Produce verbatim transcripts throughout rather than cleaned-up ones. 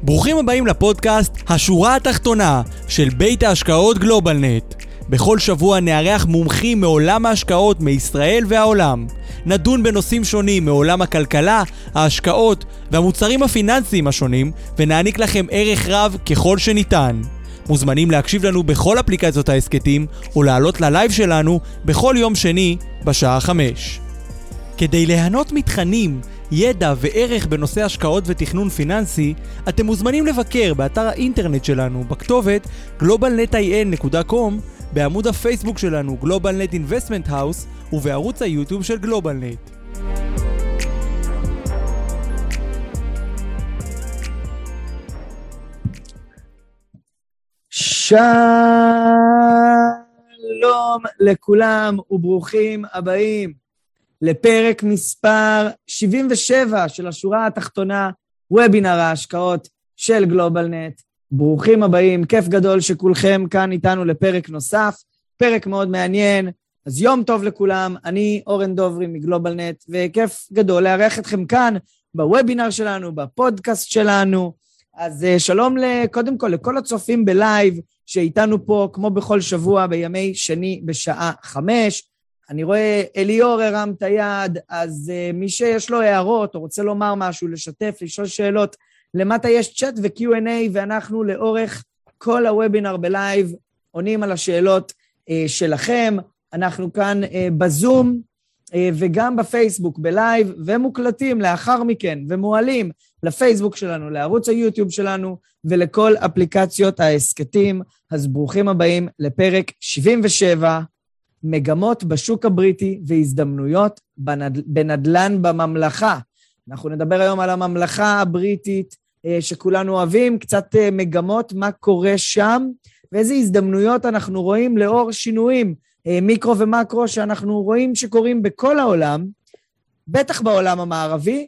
ברוכים הבאים לפודקאסט השורה התחתונה של בית ההשקעות גלובלנט. בכל שבוע נארח מומחים מעולם ההשקעות מישראל והעולם. נדון בנושאים שונים מעולם הכלכלה, ההשקעות והמוצרים הפיננסיים השונים, ונעניק לכם ערך רב ככל שניתן. מוזמנים להקשיב לנו בכל אפליקציות העסקתים, או לעלות ללייב שלנו בכל יום שני בשעה חמש. כדי ליהנות מתכנים, ידע וערך בנושא השקעות ותכנון פיננסי, אתם מוזמנים לבקר באתר האינטרנט שלנו בכתובת גלובל נט איי אן נקודה קום, בעמוד הפייסבוק שלנו GlobalNet Investment House ובערוץ היוטיוב של GlobalNet. שלום לכולם וברוכים הבאים לפרק מספר שבעים ושבע של השורה התחתונה, וובינר ההשקעות של GlobalNet. ברוכים הבאים, כיף גדול שכולכם כאן איתנו לפרק נוסף, פרק מאוד מעניין. אז יום טוב לכולם, אני אורן דוברי מגלובלנט, וכיף גדול לארח אתכם כאן בוובינר שלנו, בפודקאסט שלנו. אז שלום קודם כל לכל הצופים בלייב שאיתנו פה כמו בכל שבוע בימי שני בשעה חמש. אני רואה אליאור הרם את היד, אז uh, מי שיש לו הערות או רוצה לומר משהו, לשתף, לשאול שאלות, למטה יש צ'אט ו-קיו אנד איי, ואנחנו לאורך כל הוובינר בלייב עונים על השאלות uh, שלכם. אנחנו כאן uh, בזום uh, וגם בפייסבוק בלייב, ומוקלטים לאחר מכן ומועלים לפייסבוק שלנו, לערוץ היוטיוב שלנו ולכל אפליקציות העסקתים. אז ברוכים הבאים לפרק שבעים ושבע, מגמות בשוק הבריטי והזדמנויות בנד... בנדלן בממלכה. אנחנו נדבר היום על הממלכה הבריטית שכולנו אוהבים, קצת מגמות מה קורה שם, ואיזה הזדמנויות אנחנו רואים לאור שינויים מיקרו ומקרו שאנחנו רואים שקורים בכל העולם, בטח בעולם המערבי,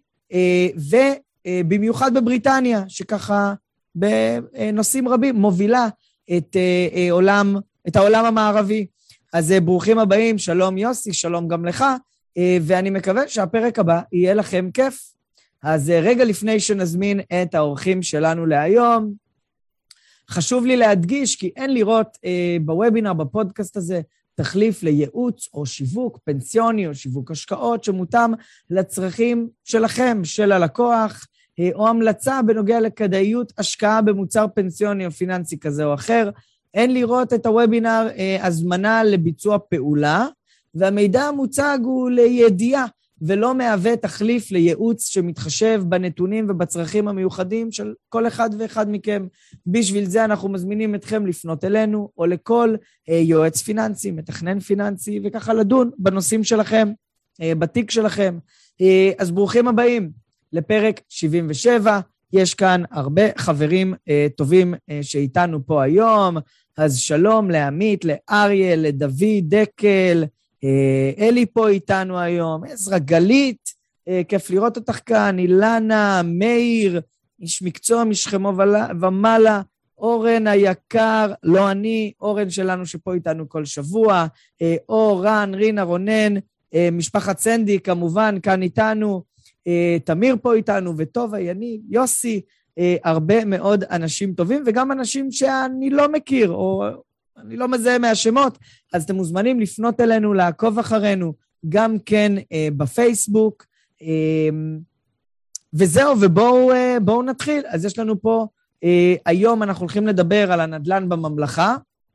ובמיוחד בבריטניה, שככה בנושאים רבים מובילה את עולם, את העולם המערבי. אז ברוכים הבאים, שלום יוסי, שלום גם לך, ואני מקווה שהפרק הבא יהיה לכם כיף. אז רגע לפני שנזמין את האורחים שלנו להיום, חשוב לי להדגיש כי אין לראות בוובינר, בפודקאסט הזה, תחליף לייעוץ או שיווק פנסיוני או שיווק השקעות שמותאם לצרכים שלכם, של הלקוח, או המלצה בנוגע לכדאיות השקעה במוצר פנסיוני או פיננסי כזה או אחר. אין לראות את הוובינר אה, הזמנה לביצוע פעולה, והמידע המוצג הוא לידיעה, ולא מהווה תחליף לייעוץ שמתחשב בנתונים ובצרכים המיוחדים של כל אחד ואחד מכם. בשביל זה אנחנו מזמינים אתכם לפנות אלינו, או לכל אה, יועץ פיננסי, מתכנן פיננסי, וככה לדון בנושאים שלכם, אה, בתיק שלכם. אה, אז ברוכים הבאים לפרק שבעים ושבע, יש כאן הרבה חברים אה, טובים אה, שאיתנו פה היום, אז שלום לעמית, לאריה, לדוד, דקל, אה, אלי פה איתנו היום, עזרא, גלית, אה, כיף לראות אותך כאן, אילנה, מאיר, איש מקצוע משכמו ומעלה, אורן היקר, לא אני, אורן שלנו שפה איתנו כל שבוע, אה, אור, רן, רינה, רונן, אה, משפחת סנדי כמובן כאן איתנו, אה, תמיר פה איתנו, וטובה, יניב, יוסי, אה, הרבה מאוד אנשים טובים, וגם אנשים שאני לא מכיר, או אני לא מזהה מהשמות, אז אתם מוזמנים לפנות אלינו, לעקוב אחרינו, גם כן אה, בפייסבוק, אה, וזהו, ובואו אה, בואו נתחיל. אז יש לנו פה, אה, היום אנחנו הולכים לדבר על הנדלן בממלכה,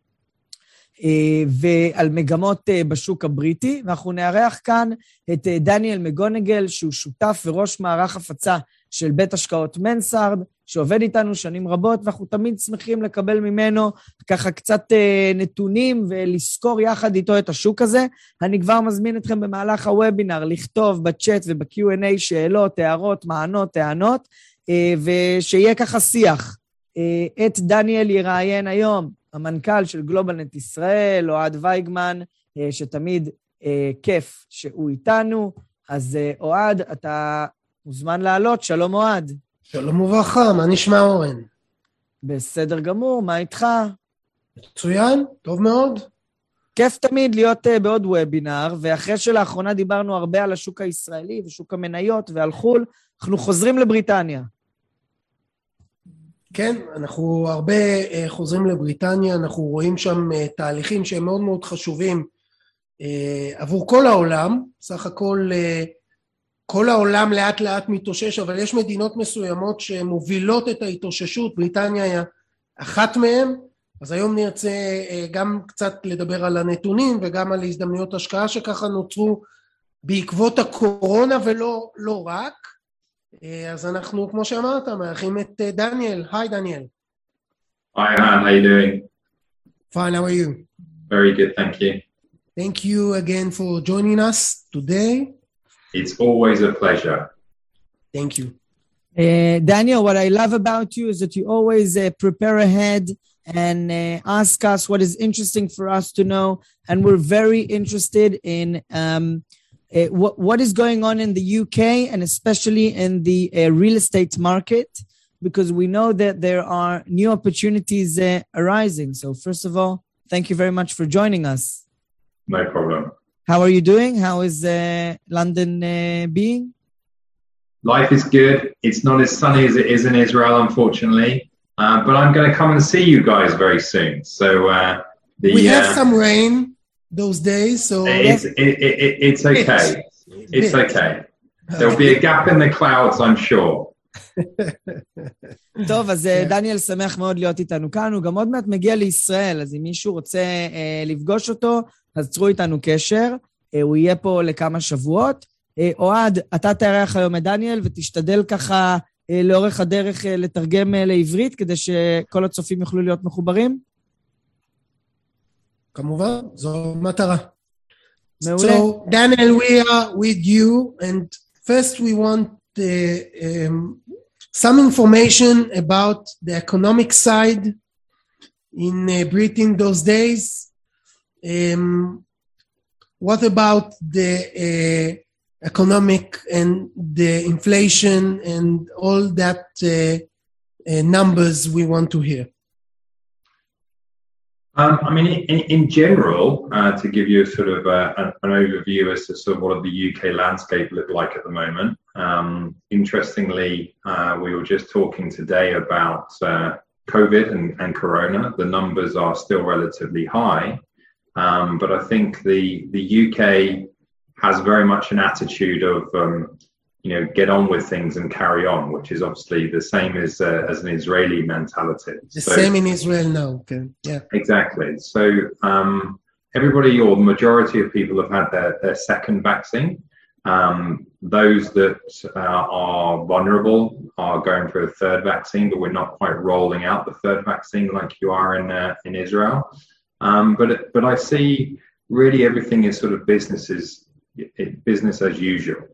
ועל מגמות בשוק הבריטי, ואנחנו נארח כאן את דניאל מגונגל, שהוא שותף וראש מערך הפצה של בית השקעות מנסארד, שעובד איתנו שנים רבות, ואנחנו תמיד שמחים לקבל ממנו ככה קצת נתונים, ולזכור יחד איתו את השוק הזה. אני כבר מזמין אתכם במהלך הוובינר, לכתוב בצ'אט וב-קיו אנד איי שאלות, הערות, מענות, טענות, ושיהיה ככה שיח. את דניאל יראיין היום המנכ"ל של גלובלנט ישראל, אוהד וייגמן, שתמיד כיף שהוא איתנו. אז אוהד, אתה מוזמן לעלות. שלום אוהד. שלום וברכה, מה נשמע אורן? בסדר גמור, מה איתך? מצוין, טוב מאוד. כיף תמיד להיות uh, בעוד וובינר, ואחרי שלאחרונה דיברנו הרבה על השוק הישראלי ושוק המניות ועל חול, אנחנו חוזרים לבריטניה. כן, אנחנו הרבה חוזרים לבריטניה, אנחנו רואים שם תהליכים שהם מאוד מאוד חשובים עבור כל העולם, סך הכל כל העולם לאט לאט מתאושש, אבל יש מדינות מסוימות שמובילות את ההתאוששות, בריטניה היא אחת מהן, אז היום נרצה גם קצת לדבר על הנתונים וגם על הזדמנויות השקעה שככה נוצרו בעקבות הקורונה ולא לא רק. אז אנחנו, כמו שאמרת, מארחים את דניאל. היי דניאל. Hi, Han, how you doing? Fine, how are you? Very good, thank you. Thank you again for joining us today. It's always a pleasure. Thank you. Uh, Daniel, what I love about you is that you always uh, prepare ahead and uh, ask us what is interesting for us to know. And we're very interested in um, uh, what, what is going on in the U K and especially in the uh, real estate market, because we know that there are new opportunities uh, arising. So first of all, thank you very much for joining us. No problem. How are you doing? How is uh, London uh, being? Life is good. It's not as sunny as it is in Israel, unfortunately. Uh, but I'm going to come and see you guys very soon. So uh, the, we have uh, some rain those days, so it's, it, it, it, it's okay. It's okay. There'll be a gap in the clouds, I'm sure. טוב, אז דניאל שמח מאוד להיות איתנו כאן, הוא גם עוד מעט מגיע לישראל, אז אם מישהו רוצה אה, לפגוש אותו, אז צרו איתנו קשר, אה, הוא יהיה פה לכמה שבועות. אה, אוהד, אתה תארח היום את דניאל, ותשתדל ככה אה, לאורך הדרך אה, לתרגם אה, לעברית, כדי שכל הצופים יוכלו להיות מחוברים? כמובן, זו מטרה. מעולה. So, Daniel, we are with you, and first we want uh, um, some information about the economic side in uh, Britain those days. Um, what about the uh, economic and the inflation and all that uh, uh, numbers we want to hear? Um, I mean, in, in general, uh, to give you a sort of uh, an, an overview as to sort of what the U K landscape look like at the moment. Um, interestingly, uh, we were just talking today about uh, COVID and, and Corona. The numbers are still relatively high, um, but I think the the U K has very much an attitude of um, you know, get on with things and carry on, which is obviously the same as uh, as an Israeli mentality. The so, same in Israel now. Okay. Yeah. Exactly. So um, everybody, or the majority of people, have had their, their second vaccine. Um, those that uh, are vulnerable are going for a third vaccine, but we're not quite rolling out the third vaccine like you are in uh, in Israel. Um, but but I see really everything is sort of business is business as usual.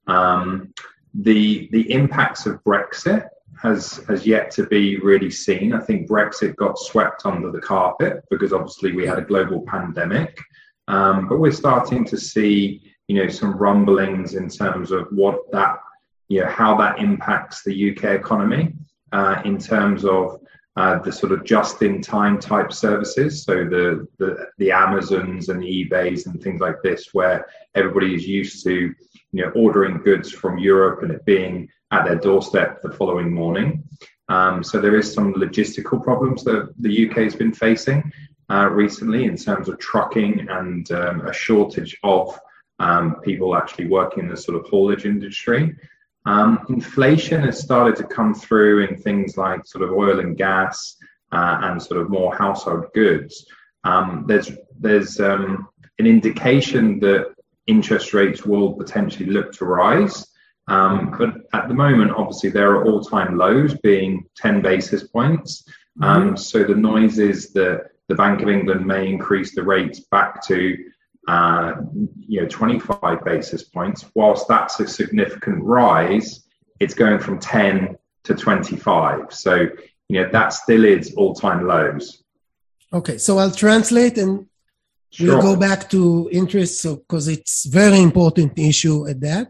Um, the the impacts of Brexit has has yet to be really seen. I think Brexit got swept under the carpet because obviously we had a global pandemic, um, but we're starting to see, you know, some rumblings in terms of what that, you know, how that impacts the U K economy uh, in terms of uh, the sort of just-in-time type services. So the, the the Amazons and the eBays and things like this, where everybody is used to, you know, ordering goods from Europe and it being at their doorstep the following morning. Um, so there is some logistical problems that the U K has been facing uh, recently in terms of trucking and um, a shortage of um, people actually working in the sort of haulage industry. Um, inflation has started to come through in things like sort of oil and gas uh, and sort of more household goods. Um, there's there's um, an indication that interest rates will potentially look to rise. Um, but at the moment, obviously, there are all-time lows being ten basis points. Um, mm-hmm. So the noise is that the Bank of England may increase the rates back to uh, you know, twenty-five basis points. Whilst that's a significant rise, it's going from ten to twenty-five. So, you know, that still is all-time lows. Okay, so I'll translate and Sure. we'll go back to interest, so because it's very important issue at that.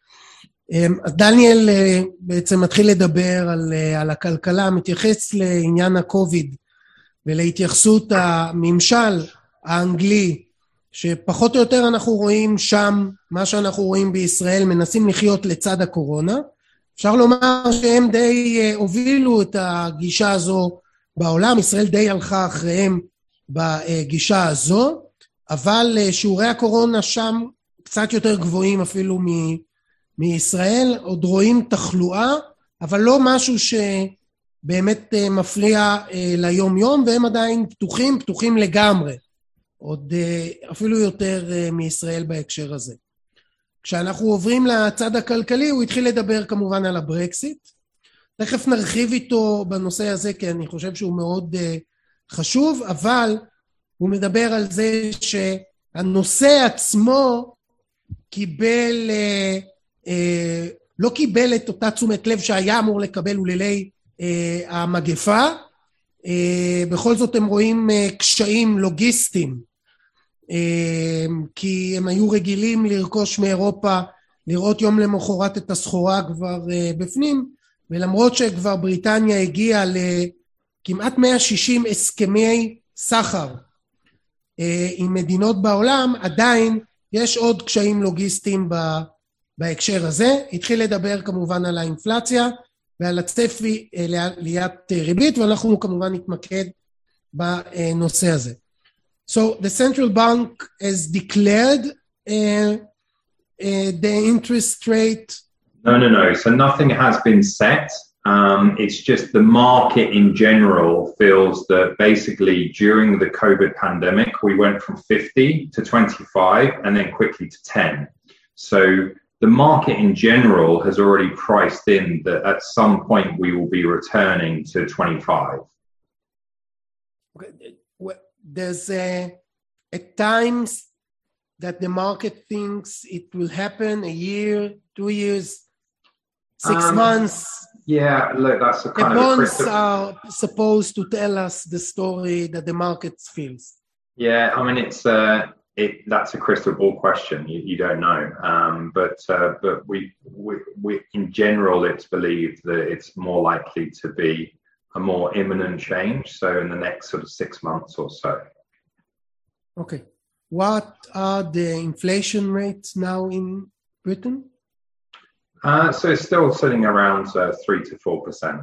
אז דניאל בעצם מתחיל לדבר על, על הכלכלה, מתייחס לעניין הקוביד ולהתייחסות הממשל האנגלי, שפחות או יותר אנחנו רואים שם, מה שאנחנו רואים בישראל, מנסים לחיות לצד הקורונה, אפשר לומר שהם די הובילו את הגישה הזו בעולם, ישראל די הלכה אחריהם בגישה הזו, אבל שיעורי הקורונה שם קצת יותר גבוהים אפילו מ- מישראל, עוד רואים תחלואה, אבל לא משהו שבאמת מפריע ליום יום, והם עדיין פתוחים, פתוחים לגמרי, עוד אפילו יותר מישראל בהקשר הזה. כשאנחנו עוברים לצד הכלכלי, הוא התחיל לדבר כמובן על הברקסיט, תכף נרחיב איתו בנושא הזה, כי אני חושב שהוא מאוד חשוב, אבל הוא מדבר על זה שהנושא עצמו קיבל, אה, אה, לא קיבל את אותה תשומת לב שהיה אמור לקבל אולילי אה, המגפה, אה, בכל זאת הם רואים אה, קשיים לוגיסטיים, אה, כי הם היו רגילים לרכוש מאירופה, לראות יום למחרת את הסחורה כבר אה, בפנים, ולמרות שכבר בריטניה הגיעה לכמעט מאה ושישים הסכמי סחר אה, עם מדינות בעולם, עדיין יש עוד קשיים לוגיסטיים בהקשר הזה. התחיל לדבר כמובן על האינפלציה ועל הצפי לעליית ריבית, ואנחנו כמובן נתמקד בנושא הזה. So the central bank has declared uh, uh, the interest rate. No, no, no. So nothing has been set. Um, it's just the market in general feels that basically during the COVID pandemic, we went from fifty to twenty-five and then quickly to ten. So the market in general has already priced in that at some point we will be returning to twenty-five. There's a, at times that the market thinks it will happen a year, two years, six um, months. Yeah, look, that's a kind the of bonds crystal... are supposed to tell us the story that the market feels. Yeah, I mean, it's uh, it. That's a crystal ball question. You, you don't know, um, but uh, but we, we we in general, it's believed that it's more likely to be a more imminent change. So in the next sort of six months or so. Okay, what are the inflation rates now in Britain? Uh, so it's still sitting around uh, three to four percent.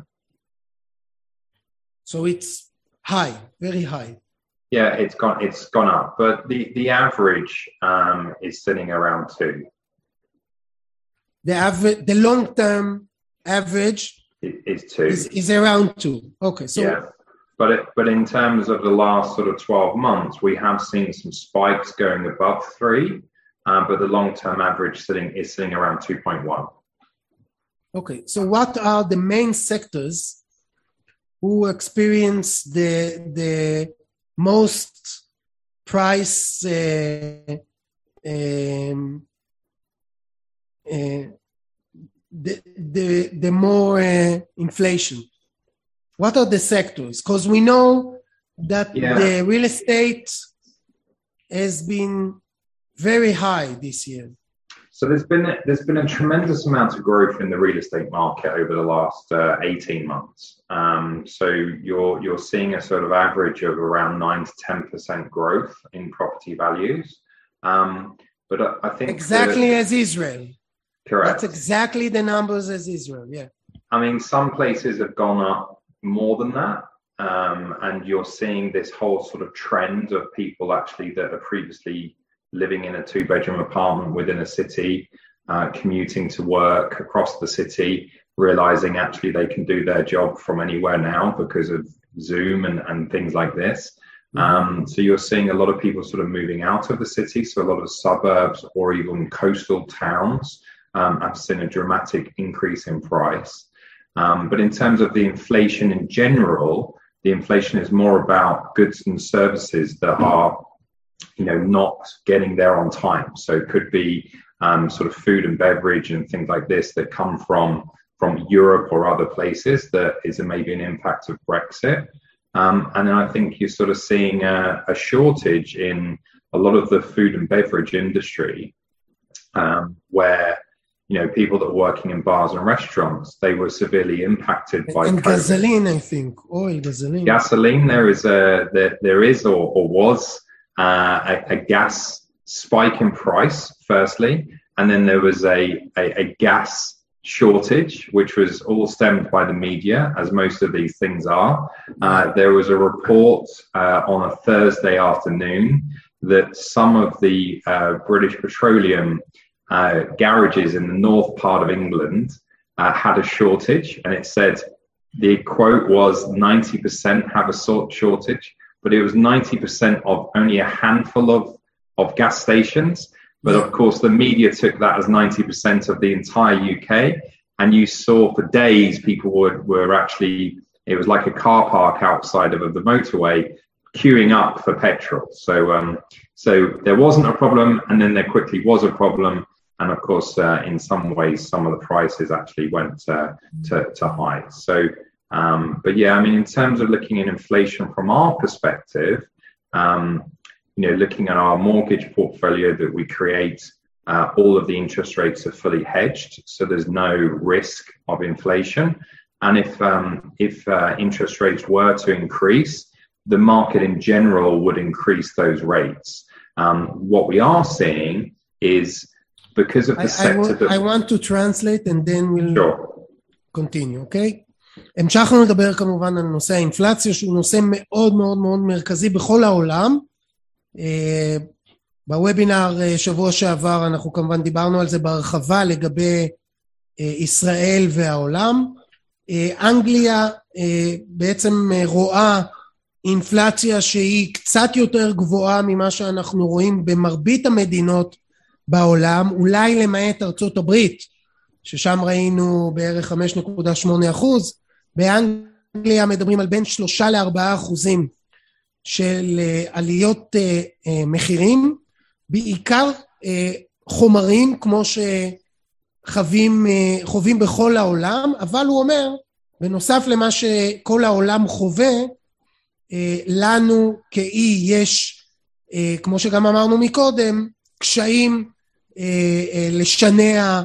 So it's high, very high. Yeah, it's gone. It's gone up, but the the average um, is sitting around two. The average, the long term average it, is two. Is, is around two. Okay, so yeah, but it, but in terms of the last sort of twelve months, we have seen some spikes going above three, um, but the long term average sitting is sitting around two point one. Okay, so what are the main sectors who experience the the most price uh, um, uh, the the the more uh, inflation? What are the sectors? Because we know that yeah. the real estate has been very high this year. So there's been there's been a tremendous amount of growth in the real estate market over the last uh, eighteen months. Um, so you're you're seeing a sort of average of around nine to ten percent growth in property values. Um, but I, I think exactly that, as Israel. Correct. That's exactly the numbers as Israel. Yeah. I mean, some places have gone up more than that, um, and you're seeing this whole sort of trend of people actually that are previously living in a two-bedroom apartment within a city, uh, commuting to work across the city, realizing actually they can do their job from anywhere now because of Zoom and, and things like this. Um, so you're seeing a lot of people sort of moving out of the city. So a lot of suburbs or even coastal towns um, have seen a dramatic increase in price. Um, but in terms of the inflation in general, the inflation is more about goods and services that are you know, not getting there on time. So it could be um, sort of food and beverage and things like this that come from from Europe or other places that is a, maybe an impact of Brexit. Um, and then I think you're sort of seeing a, a shortage in a lot of the food and beverage industry um, where, you know, people that are working in bars and restaurants, they were severely impacted by and COVID. gasoline, I think, oil, gasoline. Gasoline, there is a there, there is or, or was Uh, a, a gas spike in price, firstly, and then there was a, a, a gas shortage, which was all stemmed by the media, as most of these things are. Uh, there was a report uh, on a Thursday afternoon that some of the uh, British Petroleum uh, garages in the north part of England uh, had a shortage, and it said the quote was ninety percent have a sort shortage, but it was ninety percent of only a handful of, of gas stations. But of course, the media took that as ninety percent of the entire U K. And you saw for days, people were, were actually, it was like a car park outside of, of the motorway, queuing up for petrol. So, um, so there wasn't a problem, and then there quickly was a problem. And of course, uh, in some ways, some of the prices actually went uh, to, to high. So, um, but yeah, I mean, in terms of looking at inflation from our perspective, um, you know, looking at our mortgage portfolio that we create, uh, all of the interest rates are fully hedged, so there's no risk of inflation. And if um, if uh, interest rates were to increase, the market in general would increase those rates. Um, what we are seeing is because of the I, sector I, that... I want to translate and then we'll sure. continue, okay? המשכנו לדבר כמובן על נושא האינפלציה, שהוא נושא מאוד מאוד מאוד מרכזי בכל העולם. Uh, בוובינר uh, שבוע שעבר אנחנו כמובן דיברנו על זה בהרחבה לגבי uh, ישראל והעולם. uh, אנגליה uh, בעצם uh, רואה אינפלציה שהיא קצת יותר גבוהה ממה שאנחנו רואים במרבית המדינות בעולם, אולי למעט ארצות הברית, ששם ראינו בערך חמש נקודה שמונה אחוז. באנגליה מדברים על בין שלושה לארבעה אחוזים של עליות מחירים, בעיקר חומרים כמו שחווים חווים בכל העולם, אבל הוא אומר, בנוסף למה שכל העולם חווה, לנו כאי יש, כמו שגם אמרנו מקודם, קשיים לשנע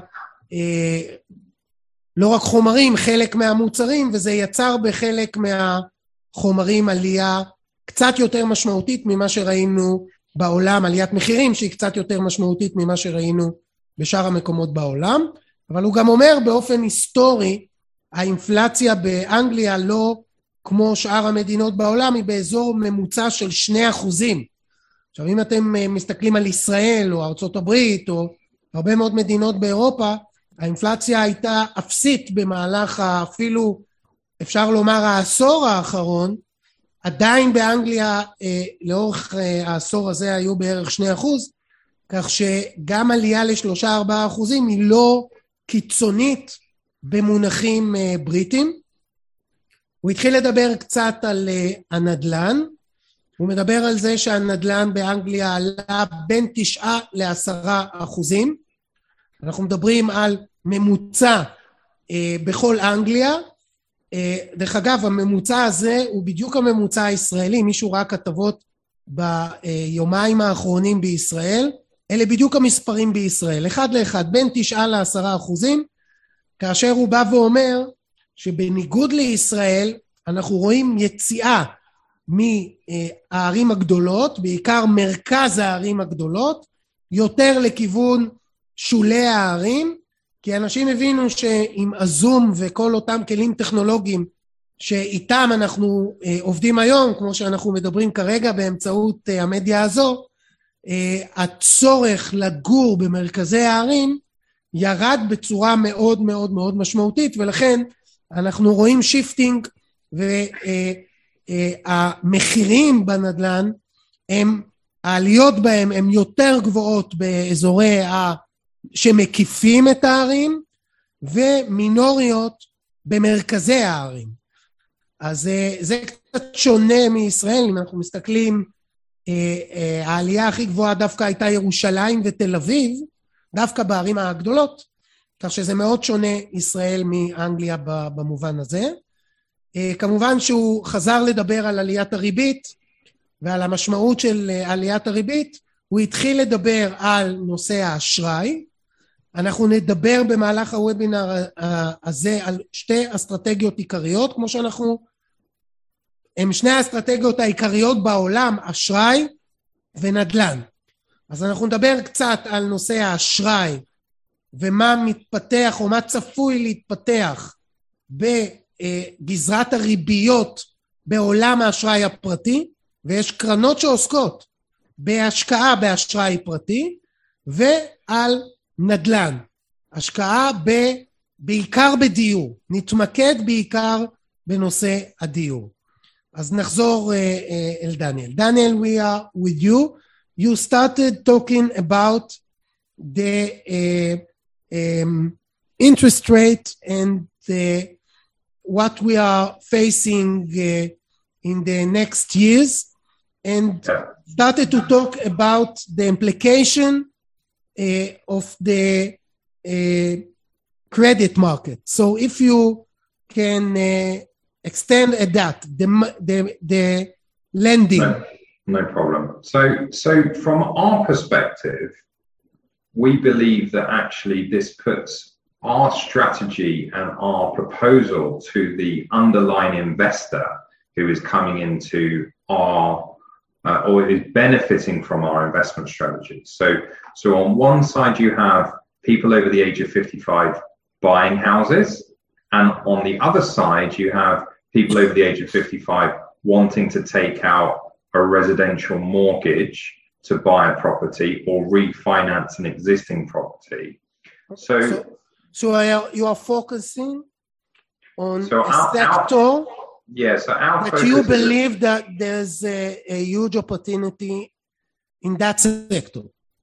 לא רק חומרים, חלק מהמוצרים, וזה יצר בחלק מהחומרים עלייה קצת יותר משמעותית ממה שראינו בעולם, עליית מחירים שהיא קצת יותר משמעותית ממה שראינו בשאר המקומות בעולם. אבל הוא גם אומר באופן היסטורי, האינפלציה באנגליה לא כמו שאר המדינות בעולם, היא באזור ממוצע של שני אחוזים. עכשיו אם אתם מסתכלים על ישראל או ארצות הברית או הרבה מאוד מדינות באירופה, האינפלציה הייתה אפסית במהלך אפילו אפשר לומר העשור האחרון. עדיין באנגליה אה, לאורך אה, העשור הזה היו בערך שני אחוז, כך שגם עלייה לשלושה ארבעה אחוזים היא לא קיצונית במונחים אה, בריטים. הוא התחיל לדבר קצת על אה, הנדלן, הוא מדבר על זה שהנדלן באנגליה עלה בין תשעה לעשרה אחוזים, אנחנו מדברים על ממוצע אה, בכל אנגליה, אה, דרך אגב הממוצע הזה הוא בדיוק הממוצע הישראלי, מישהו ראה כתבות ביומיים האחרונים בישראל, אלה בדיוק המספרים בישראל, אחד לאחד, בין תשעה לעשרה אחוזים, כאשר הוא בא ואומר שבניגוד לישראל אנחנו רואים יציאה מהערים הגדולות, בעיקר מרכז הערים הגדולות, יותר לכיוון שולי הערים, כי אנשים הבינו שעם הזום וכל אותם כלים טכנולוגיים שאיתם אנחנו אה, עובדים היום, כמו שאנחנו מדברים כרגע באמצעות אה, המדיה הזו, אה, הצורך לגור במרכזי הערים ירד בצורה מאוד מאוד מאוד משמעותית, ולכן אנחנו רואים שיפטינג, והמחירים בנדלן, הם, העליות בהם הם יותר גבוהות באזורי ה... שמקיפים את הערים, ומינוריות במרכזי הערים. אז זה קצת שונה מישראל, אם אנחנו מסתכלים, העלייה הכי גבוהה דווקא הייתה ירושלים ותל אביב, דווקא בערים הגדולות, כך שזה מאוד שונה ישראל מאנגליה במובן הזה. כמובן שהוא חזר לדבר על עליית הריבית, ועל המשמעות של עליית הריבית, הוא התחיל לדבר על נושא האשראי. אנחנו נדבר במהלך הוובינר הזה על שתי אסטרטגיות עיקריות, כמו שאנחנו, הם שני האסטרטגיות העיקריות בעולם, אשראי ונדל"ן. אז אנחנו נדבר קצת על נושא האשראי ומה מתפתח או מה צפוי להתפתח בגזרת הריביות בעולם האשראי הפרטי, ויש קרנות שעוסקות בהשקעה באשראי פרטי ועל נדל"ן, השקעה ב, בעיקר בדיור, נתמקד בעיקר בנושא הדיור. אז נחזור uh, אל דניאל. דניאל, we are with you. You started talking about the uh, um, interest rate and the, what we are facing uh, in the next years, and started to talk about the implication uh, of the uh, credit market. So if you can uh, extend at that, the, the, the lending. No, no problem. So, so from our perspective, we believe that actually this puts our strategy and our proposal to the underlying investor who is coming into our uh, or is benefiting from our investment strategy. So, so on one side you have people over the age of fifty-five buying houses, and on the other side you have people over the age of fifty-five wanting to take out a residential mortgage to buy a property or refinance an existing property. So, so, so are, you are focusing on so a our, sector our, yeah, so our that focus you is believe that there's a, a huge opportunity in that sector.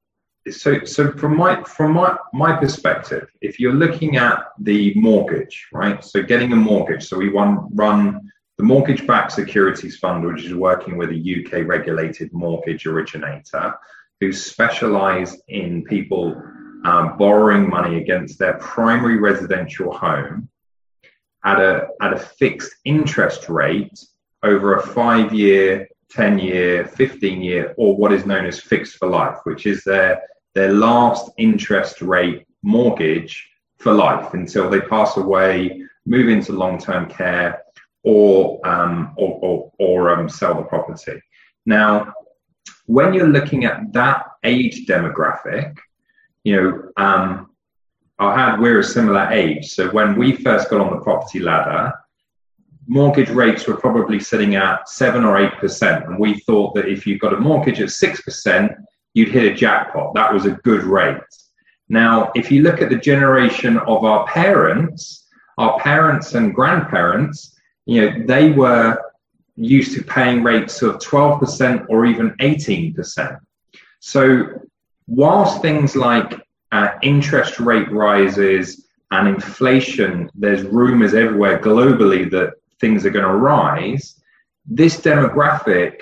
So, so from my from my my perspective, if you're looking at the mortgage, right? So, getting a mortgage. So, we run run the Mortgage-Backed Securities Fund, which is working with a U K regulated mortgage originator who specialise in people um, borrowing money against their primary residential home at a at a fixed interest rate over a five-year, ten-year, fifteen-year, or what is known as fixed for life, which is their their last interest rate mortgage for life until they pass away, move into long-term care, or um, or, or, or um, sell the property. Now, when you're looking at that age demographic, you know, um, I had we're a similar age. So when we first got on the property ladder, mortgage rates were probably sitting at seven or eight percent, and we thought that if you got a mortgage at six percent, you'd hit a jackpot. That was a good rate. Now, if you look at the generation of our parents, our parents and grandparents, you know, they were used to paying rates of twelve percent or even eighteen percent. So whilst things like uh, interest rate rises and inflation, there's rumors everywhere globally that things are going to rise, this demographic,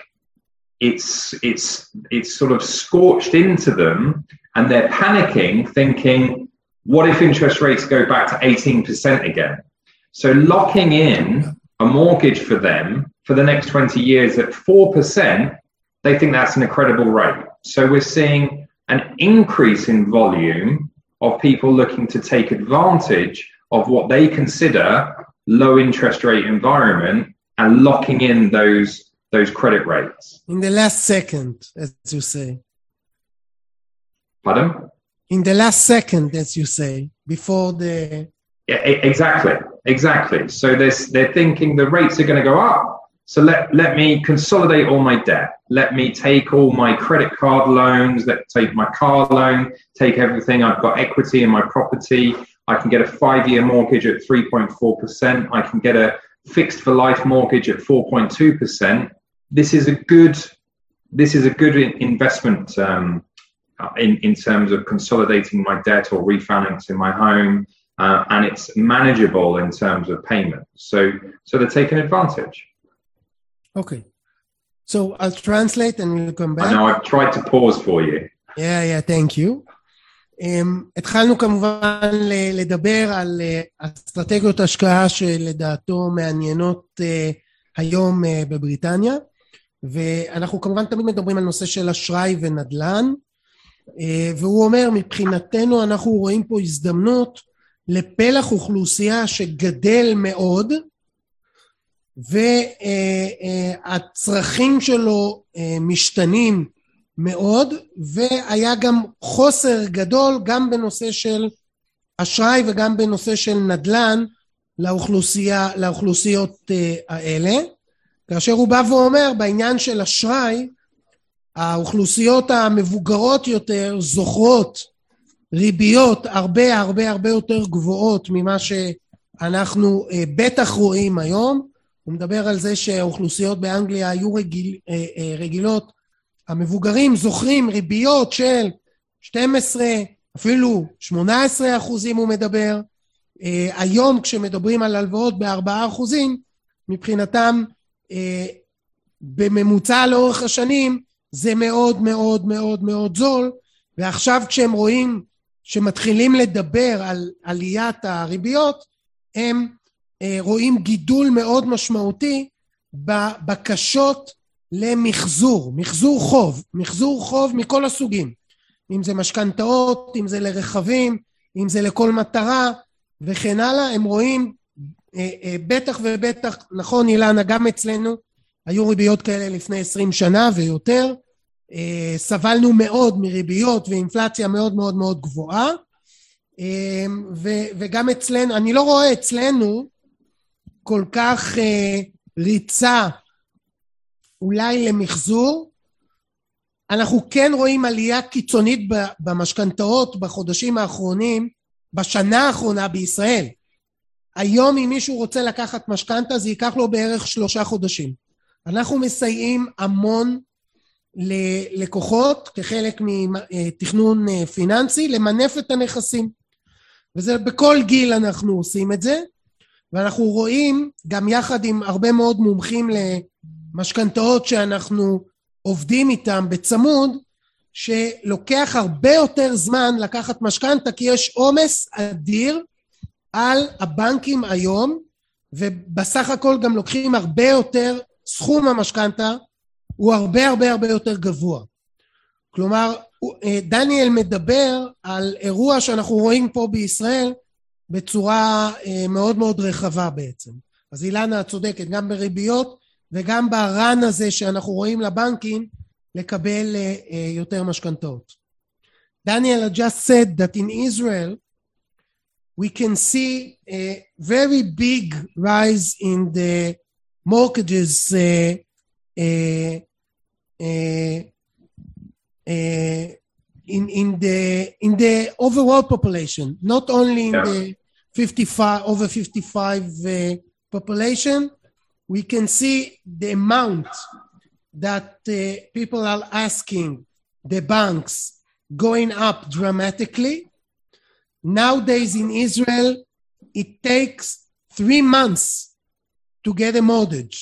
it's it's it's sort of scorched into them, and they're panicking, thinking, what if interest rates go back to eighteen percent again? So locking in a mortgage for them for the next twenty years at four percent, they think that's an incredible rate. So we're seeing an increase in volume of people looking to take advantage of what they consider low interest rate environment and locking in those those credit rates. In the last second, as you say. Pardon? In the last second, as you say, before the... Yeah, exactly, exactly. So there's, they're thinking the rates are going to go up. So let, let me consolidate all my debt. Let me take all my credit card loans, let take my car loan, take everything. I've got equity in my property. I can get a five-year mortgage at three point four percent. I can get a fixed for life mortgage at four point two percent. This is a good, this is a good investment um, in, in terms of consolidating my debt or refinancing my home. Uh, and it's manageable in terms of payment. So, so they're taking advantage. Okay. So I'll translate and we'll come back. I know I've tried to pause for you. Yeah, yeah, thank you. Um, התחלנו כמובן לדבר על uh, אסטרטגיות השקעה שלדעתו מעניינות uh, היום uh, בבריטניה, ואנחנו כמובן תמיד מדברים על נושא של אשראי ונדל"ן, uh, והוא אומר, מבחינתנו אנחנו רואים פה הזדמנות לפלח אוכלוסייה שגדל מאוד, והצרכים שלו משתנים מאוד, והיה גם חוסר גדול גם בנושא של אשראי וגם בנושא של נדל"ן לאוכלוסייה, לאוכלוסיות האלה, כאשר הוא בא ואומר בעניין של אשראי, האוכלוסיות המבוגרות יותר זוכרות ריביות הרבה הרבה הרבה יותר גבוהות ממה שאנחנו בטח רואים היום. הוא מדבר על זה שהאוכלוסיות באנגליה היו רגיל, רגילות, המבוגרים זוכרים ריביות של שתים עשרה, אפילו שמונה עשרה אחוזים הוא מדבר. היום כשמדברים על הלוואות בארבעה אחוזים, מבחינתם בממוצע לאורך השנים זה מאוד מאוד מאוד מאוד זול, ועכשיו כשהם רואים שמתחילים לדבר על עליית הריביות, הם רואים גידול מאוד משמעותי בבקשות למחזור, מחזור חוב, מחזור חוב מכל הסוגים, אם זה משכנתאות, אם זה לרכבים, אם זה לכל מטרה וכן הלאה. הם רואים בטח ובטח, נכון אילנה, גם אצלנו היו ריביות כאלה לפני עשרים שנה ויותר, סבלנו מאוד מריביות ואינפלציה מאוד מאוד מאוד גבוהה, וגם אצלנו, אני לא רואה אצלנו כל כך ריצה אולי למחזור. אנחנו כן רואים עלייה קיצונית במשכנתאות בחודשים האחרונים, בשנה האחרונה בישראל. היום אם מישהו רוצה לקחת משכנתה זה ייקח לו בערך שלושה חודשים. אנחנו מסייעים המון ללקוחות כחלק מתכנון פיננסי למנף את הנכסים, וזה בכל גיל אנחנו עושים את זה, ואנחנו רואים גם יחד עם הרבה מאוד מומחים למשכנתאות שאנחנו עובדים איתם בצמוד, שלוקח הרבה יותר זמן לקחת משכנתה כי יש עומס אדיר על הבנקים היום, ובסך הכל גם לוקחים הרבה יותר, סכום המשכנתה הוא הרבה הרבה הרבה יותר גבוה. כלומר, דניאל מדבר על אירוע שאנחנו רואים פה בישראל בצורה מאוד מאוד רחבה בעצם. אז אילנה צודקת, גם בריביות וגם ברן הזה שאנחנו רואים לבנקים לקבל יותר משכנתאות. Daniel just said that in Israel we can see a very big rise in the mortgages uh, uh, uh, uh, in in the in the overall population, not only in yeah. the fifty-five over fifty-five uh, population. We can see the amount that uh, people are asking the banks going up dramatically. Nowadays in Israel, it takes three months to get a mortgage.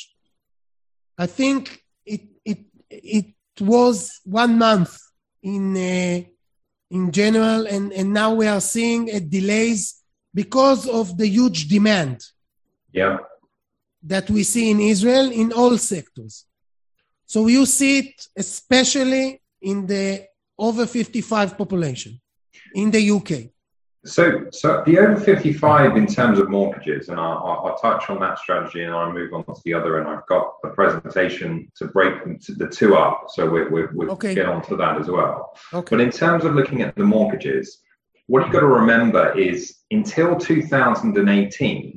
I think it it it was one month in uh, in general, and and now we are seeing a delays because of the huge demand. Yeah. That we see in Israel in all sectors. So you see it especially in the over fifty-five population in the U K. So, so the over fifty-five in terms of mortgages, and I'll, I'll touch on that strategy and I'll move on to the other, and I've got a presentation to break them to the two up, so we, we, we'll okay. get on to that as well. Okay. But in terms of looking at the mortgages, what you've got to remember is until two thousand eighteen,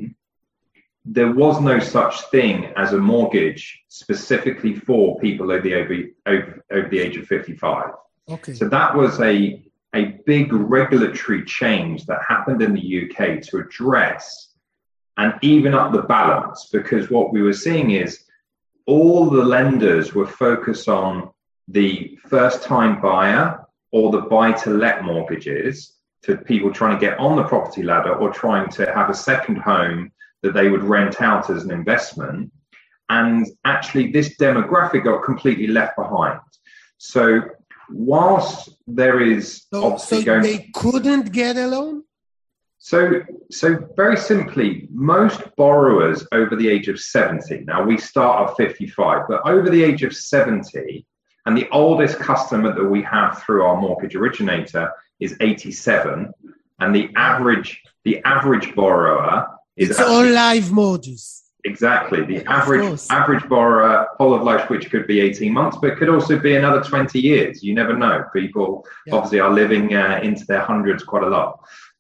there was no such thing as a mortgage specifically for people over the, over, over, over the age of fifty-five. Okay. So that was a a big regulatory change that happened in the U K to address and even up the balance, because what we were seeing is all the lenders were focused on the first-time buyer or the buy-to-let mortgages, to people trying to get on the property ladder or trying to have a second home that they would rent out as an investment. And actually this demographic got completely left behind. So whilst there is so, obviously so going... they couldn't get a loan? So, so very simply, most borrowers over the age of seventy, now we start at fifty-five, but over the age of seventy, and the oldest customer that we have through our mortgage originator is eighty-seven, and the average, the average borrower is... It's all live mortgages. Exactly. The average average borrower, whole of life, which could be eighteen months, but could also be another twenty years. You never know. People yeah. obviously are living uh, into their hundreds quite a lot.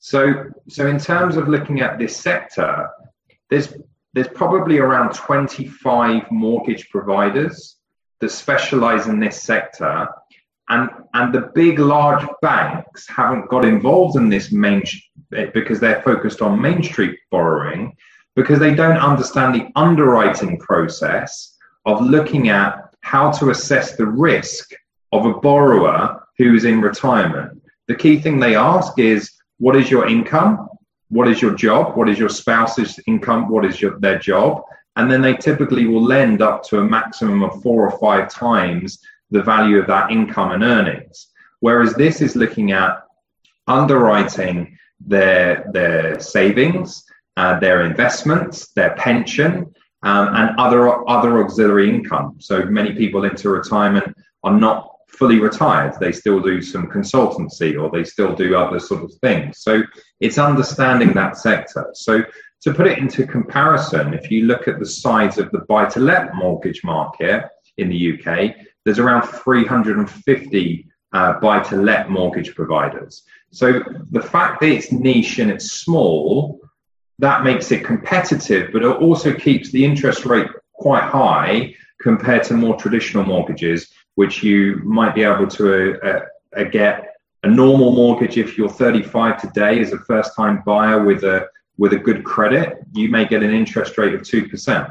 So, so in terms of looking at this sector, there's there's probably around twenty-five mortgage providers that specialize in this sector, and and the big large banks haven't got involved in this main because they're focused on Main Street borrowing, because they don't understand the underwriting process of looking at how to assess the risk of a borrower who's in retirement. The key thing they ask is, what is your income? What is your job? What is your spouse's income? What is your, their job? And then they typically will lend up to a maximum of four or five times the value of that income and earnings. Whereas this is looking at underwriting their, their savings, uh, their investments, their pension, um, and other, other auxiliary income. So many people into retirement are not fully retired. They still do some consultancy, or they still do other sort of things. So it's understanding that sector. So to put it into comparison, if you look at the size of the buy-to-let mortgage market in the U K, there's around three hundred fifty uh, buy-to-let mortgage providers. So the fact that it's niche and it's small, that makes it competitive, but it also keeps the interest rate quite high compared to more traditional mortgages, which you might be able to uh, uh, get a normal mortgage. If you're thirty-five today as a first-time buyer with a with a good credit, you may get an interest rate of two percent.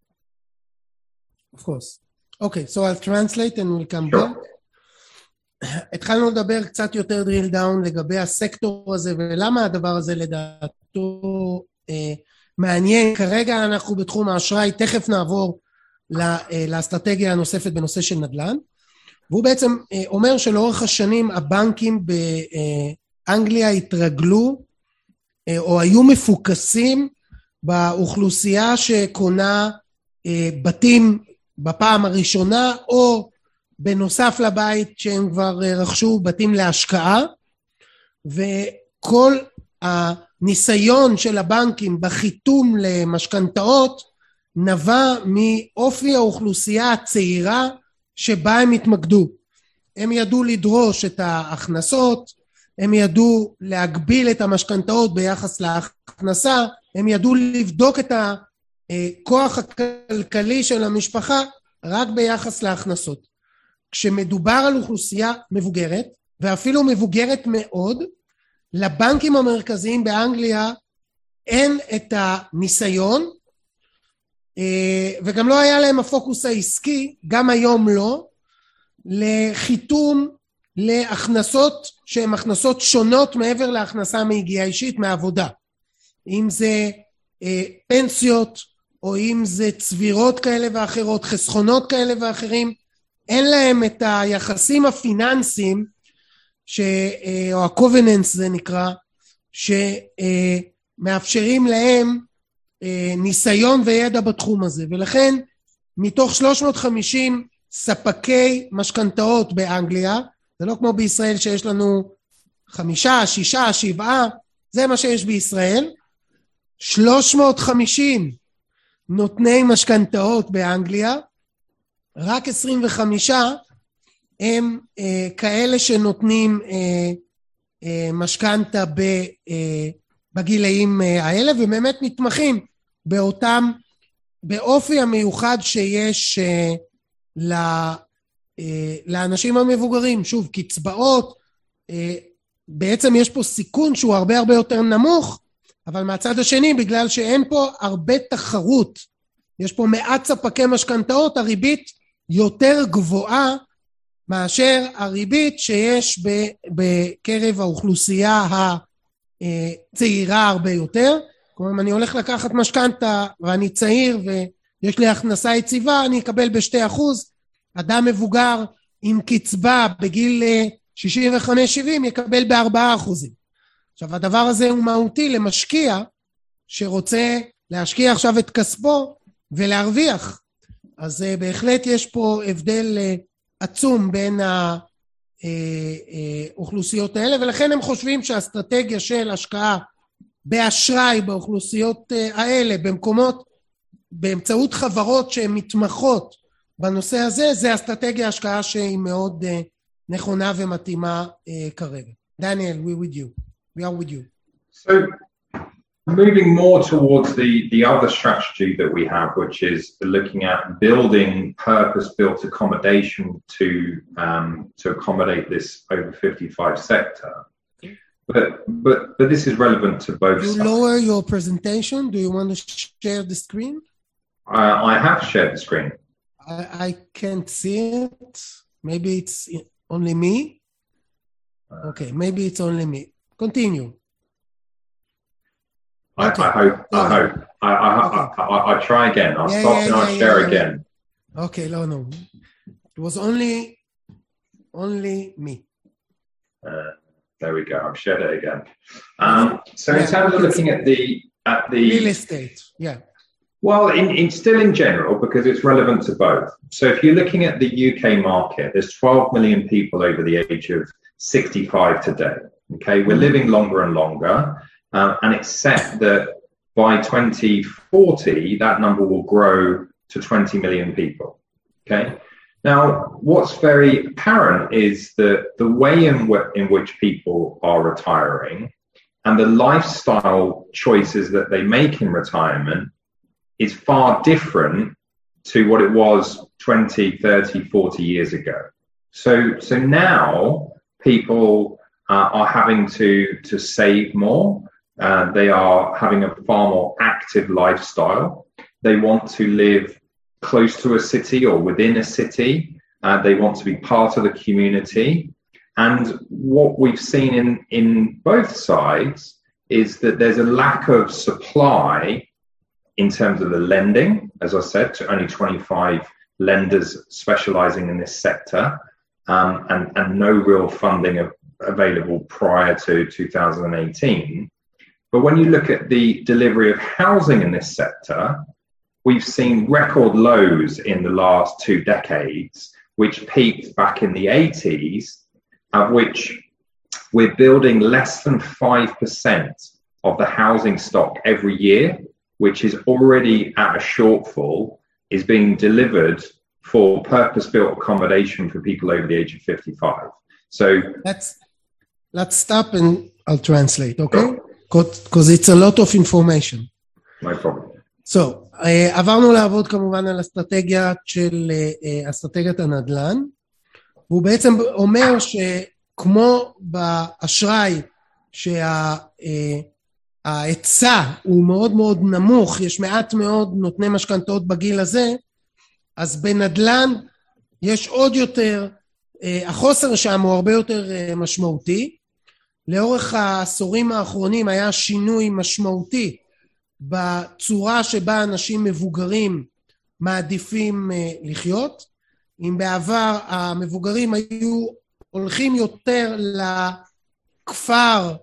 Of course. Okay, so I'll translate and we'll come Sure. back. התחלנו לדבר קצת יותר drill down לגבי הסקטור הזה, ולמה הדבר הזה לדעתו אה, מעניין. כרגע אנחנו בתחום האשראי, תכף נעבור לאסטרטגיה הנוספת בנושא של נדל"ן, והוא בעצם אומר שלאורך השנים הבנקים באנגליה התרגלו או היו מפוקסים באוכלוסייה שקונה בתים בפעם הראשונה, או בנוסף לבית שהם כבר רכשו בתים להשקעה, וכל הניסיון של הבנקים בחיתום למשכנתאות נבע מאופי האוכלוסייה הצעירה שבה הם התמקדו. הם ידעו לדרוש את ההכנסות, הם ידעו להגביל את המשכנתאות ביחס להכנסה, הם ידעו לבדוק את הכוח הכלכלי של המשפחה רק ביחס להכנסות. כשמדובר על אוכלוסייה מבוגרת, ואפילו מבוגרת מאוד, לבנקים המרכזיים באנגליה אין את הניסיון, וגם לא היה להם הפוקוס העסקי, גם היום לא, לחיתום להכנסות שהן הכנסות שונות מעבר להכנסה מיגיעה אישית מעבודה. אם זה אה, פנסיות, או אם זה צבירות כאלה ואחרות, חסכונות כאלה ואחרים, אין להם את היחסים הפיננסיים, ש, אה, או הקובננס זה נקרא, שמאפשרים להם אה, ניסיון וידע בתחום הזה. ולכן מתוך שלוש מאות וחמישים ספקי משכנתאות באנגליה, זה לא כמו בישראל שיש לנו חמישה, שישה, שבעה, זה מה שיש בישראל. שלוש מאות וחמישים נותני משכנתאות באנגליה, רק עשרים וחמישה הם אה, כאלה שנותנים אה, אה, משכנתה ב, אה, בגילאים אה, האלה, ובאמת מתמחים באותם, באופי המיוחד שיש אה, ל... לאנשים המבוגרים. שוב, קצבאות, בעצם יש פה סיכון שהוא הרבה הרבה יותר נמוך, אבל מהצד השני, בגלל שאין פה הרבה תחרות, יש פה מעט ספקי משכנתאות, הריבית יותר גבוהה מאשר הריבית שיש בקרב האוכלוסייה הצעירה הרבה יותר. כלומר, אם אני הולך לקחת משכנתה ואני צעיר ויש לי הכנסה יציבה, אני אקבל בשתי אחוז, אדם מבוגר עם קצבה בגיל שישים וחמש שבעים יקבל בארבעה אחוזים. עכשיו, הדבר הזה הוא מהותי למשקיע שרוצה להשקיע עכשיו את כספו ולהרוויח. אז בהחלט יש פה הבדל עצום בין האוכלוסיות האלה, ולכן הם חושבים שהאסטרטגיה של השקעה באשראי באוכלוסיות האלה, במקומות, באמצעות חברות שהן מתמחות בנושא הזה, זה אסטרטגיה השקעה שהיא מאוד uh, נכונה ומתאימה uh, כרגע. דניאל, we with you. We are with you. So moving more towards the, the other strategy that we have, which is looking at building purpose-built accommodation to um, to accommodate this over fifty-five sector. But but but this is relevant to both You sides. lower your presentation. Do you want to share the screen? Uh, I have shared the screen. I, I can't see it. Maybe it's only me. Okay, maybe it's only me. Continue. I, Okay. I hope. I Okay. hope. I I, Okay. I, I, I try again. I'll Yeah, stop yeah, and I'll yeah, share yeah, yeah. again. Okay, no, no. It was only, only me. Uh, there we go. I've shared it again. Um, so in Yeah, terms you of can looking see at the at the Real estate. Yeah. well, in, in still in general, because it's relevant to both. So if you're looking at the U K market, there's twelve million people over the age of sixty-five today. Okay, we're living longer and longer, um, and it's set that by twenty forty, that number will grow to twenty million people. Okay. Now, what's very apparent is that the way in, w- in which people are retiring and the lifestyle choices that they make in retirement is far different to what it was twenty, thirty, forty years ago. So, so now people uh, are having to, to save more. Uh, they are having a far more active lifestyle. They want to live close to a city or within a city. Uh, they want to be part of the community. And what we've seen in, in both sides is that there's a lack of supply in terms of the lending, as I said, to only twenty-five lenders specializing in this sector, um, and, and no real funding of, available prior to two thousand eighteen. But when you look at the delivery of housing in this sector, we've seen record lows in the last two decades, which peaked back in the eighties, of which we're building less than five percent of the housing stock every year, which is already at a shortfall, is being delivered for purpose-built accommodation for people over the age of fifty-five. So Let's, let's stop and I'll translate, okay? Because it's a lot of information. no problem. So, uh, עברנו לעבוד כמובן על אסטרטגיה של uh, אסטרטגיית הנדל"ן, והוא בעצם אומר שכמו באשראי שההיצע הוא מאוד מאוד נמוך, יש מעט מאוד נותני משכנתאות בגיל הזה, אז בנדל"ן יש עוד יותר, uh, החוסר שם הוא הרבה יותר uh, משמעותי. לאורך העשורים האחרונים היה שינוי משמעותי בצורה שבה אנשים מבוגרים מעדיפים לחיות. אם בעבר המבוגרים היו הולכים יותר לכפר,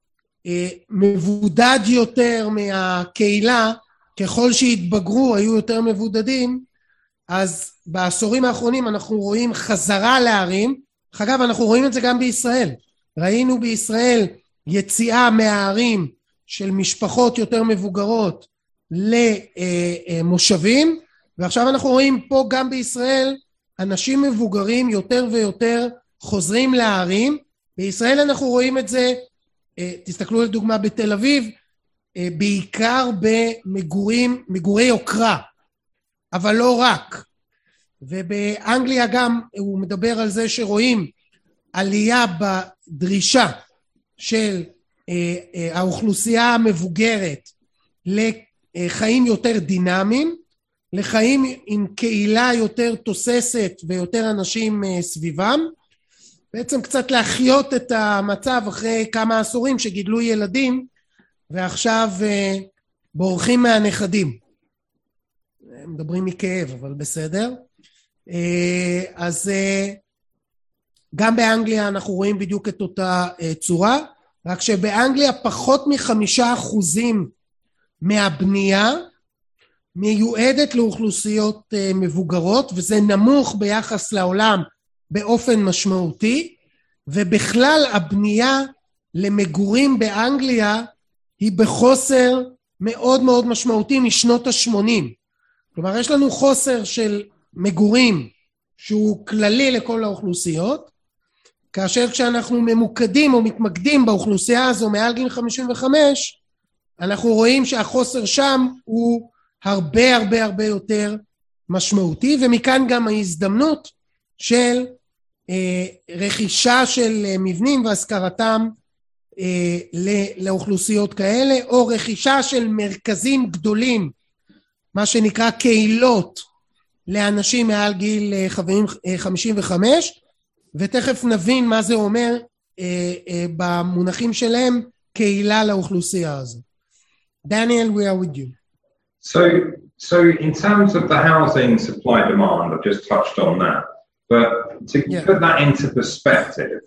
מבודד יותר מהקהילה, ככל שהתבגרו היו יותר מבודדים, אז בעשורים האחרונים אנחנו רואים חזרה לערים. אגב, אנחנו רואים את זה גם בישראל. ראינו בישראל יציאה מהערים של משפחות יותר מבוגרות למושבים, ועכשיו אנחנו רואים פה גם בישראל אנשים מבוגרים יותר ויותר חוזרים לערים. בישראל אנחנו רואים את זה, תסתכלו לדוגמה בתל אביב, בעיקר במגורים, מגורי יוקרה, אבל לא רק. ובאנגליה גם הוא מדבר על זה שרואים עלייה בדרישה של האוכלוסייה המבוגרת לחיים יותר דינמיים, לחיים עם קהילה יותר תוססת ויותר אנשים סביבם, בעצם קצת להחיות את המצב אחרי כמה עשורים שגידלו ילדים ועכשיו בורחים מהנכדים. מדברים מכאב, אבל בסדר. אז גם באנגליה אנחנו רואים בדיוק את אותה צורה, רק שבאנגליה פחות מחמישה אחוזים מהבנייה מיועדת לאוכלוסיות מבוגרות, וזה נמוך ביחס לעולם באופן משמעותי, ובכלל הבנייה למגורים באנגליה היא בחוסר מאוד מאוד משמעותי משנות ה-שמונים. כלומר, יש לנו חוסר של מגורים שהוא כללי לכל האוכלוסיות, כאשר כשאנחנו ממוקדים או מתמקדים באוכלוסייה הזו מעל גיל חמישים וחמש, אנחנו רואים שהחוסר שם הוא הרבה הרבה הרבה יותר משמעותי, ומכאן גם ההזדמנות של אה, רכישה של אה, מבנים והשכרתם אה, לאוכלוסיות כאלה, או רכישה של מרכזים גדולים, מה שנקרא קהילות, לאנשים מעל גיל אה, חמישים וחמש, ותכף נבין מה זה אומר אה, אה, במונחים שלהם קהילה לאוכלוסייה הזו. Daniel, we are with you. So, so in terms of the housing supply demand, I've just touched on that. But to yeah. put that into perspective,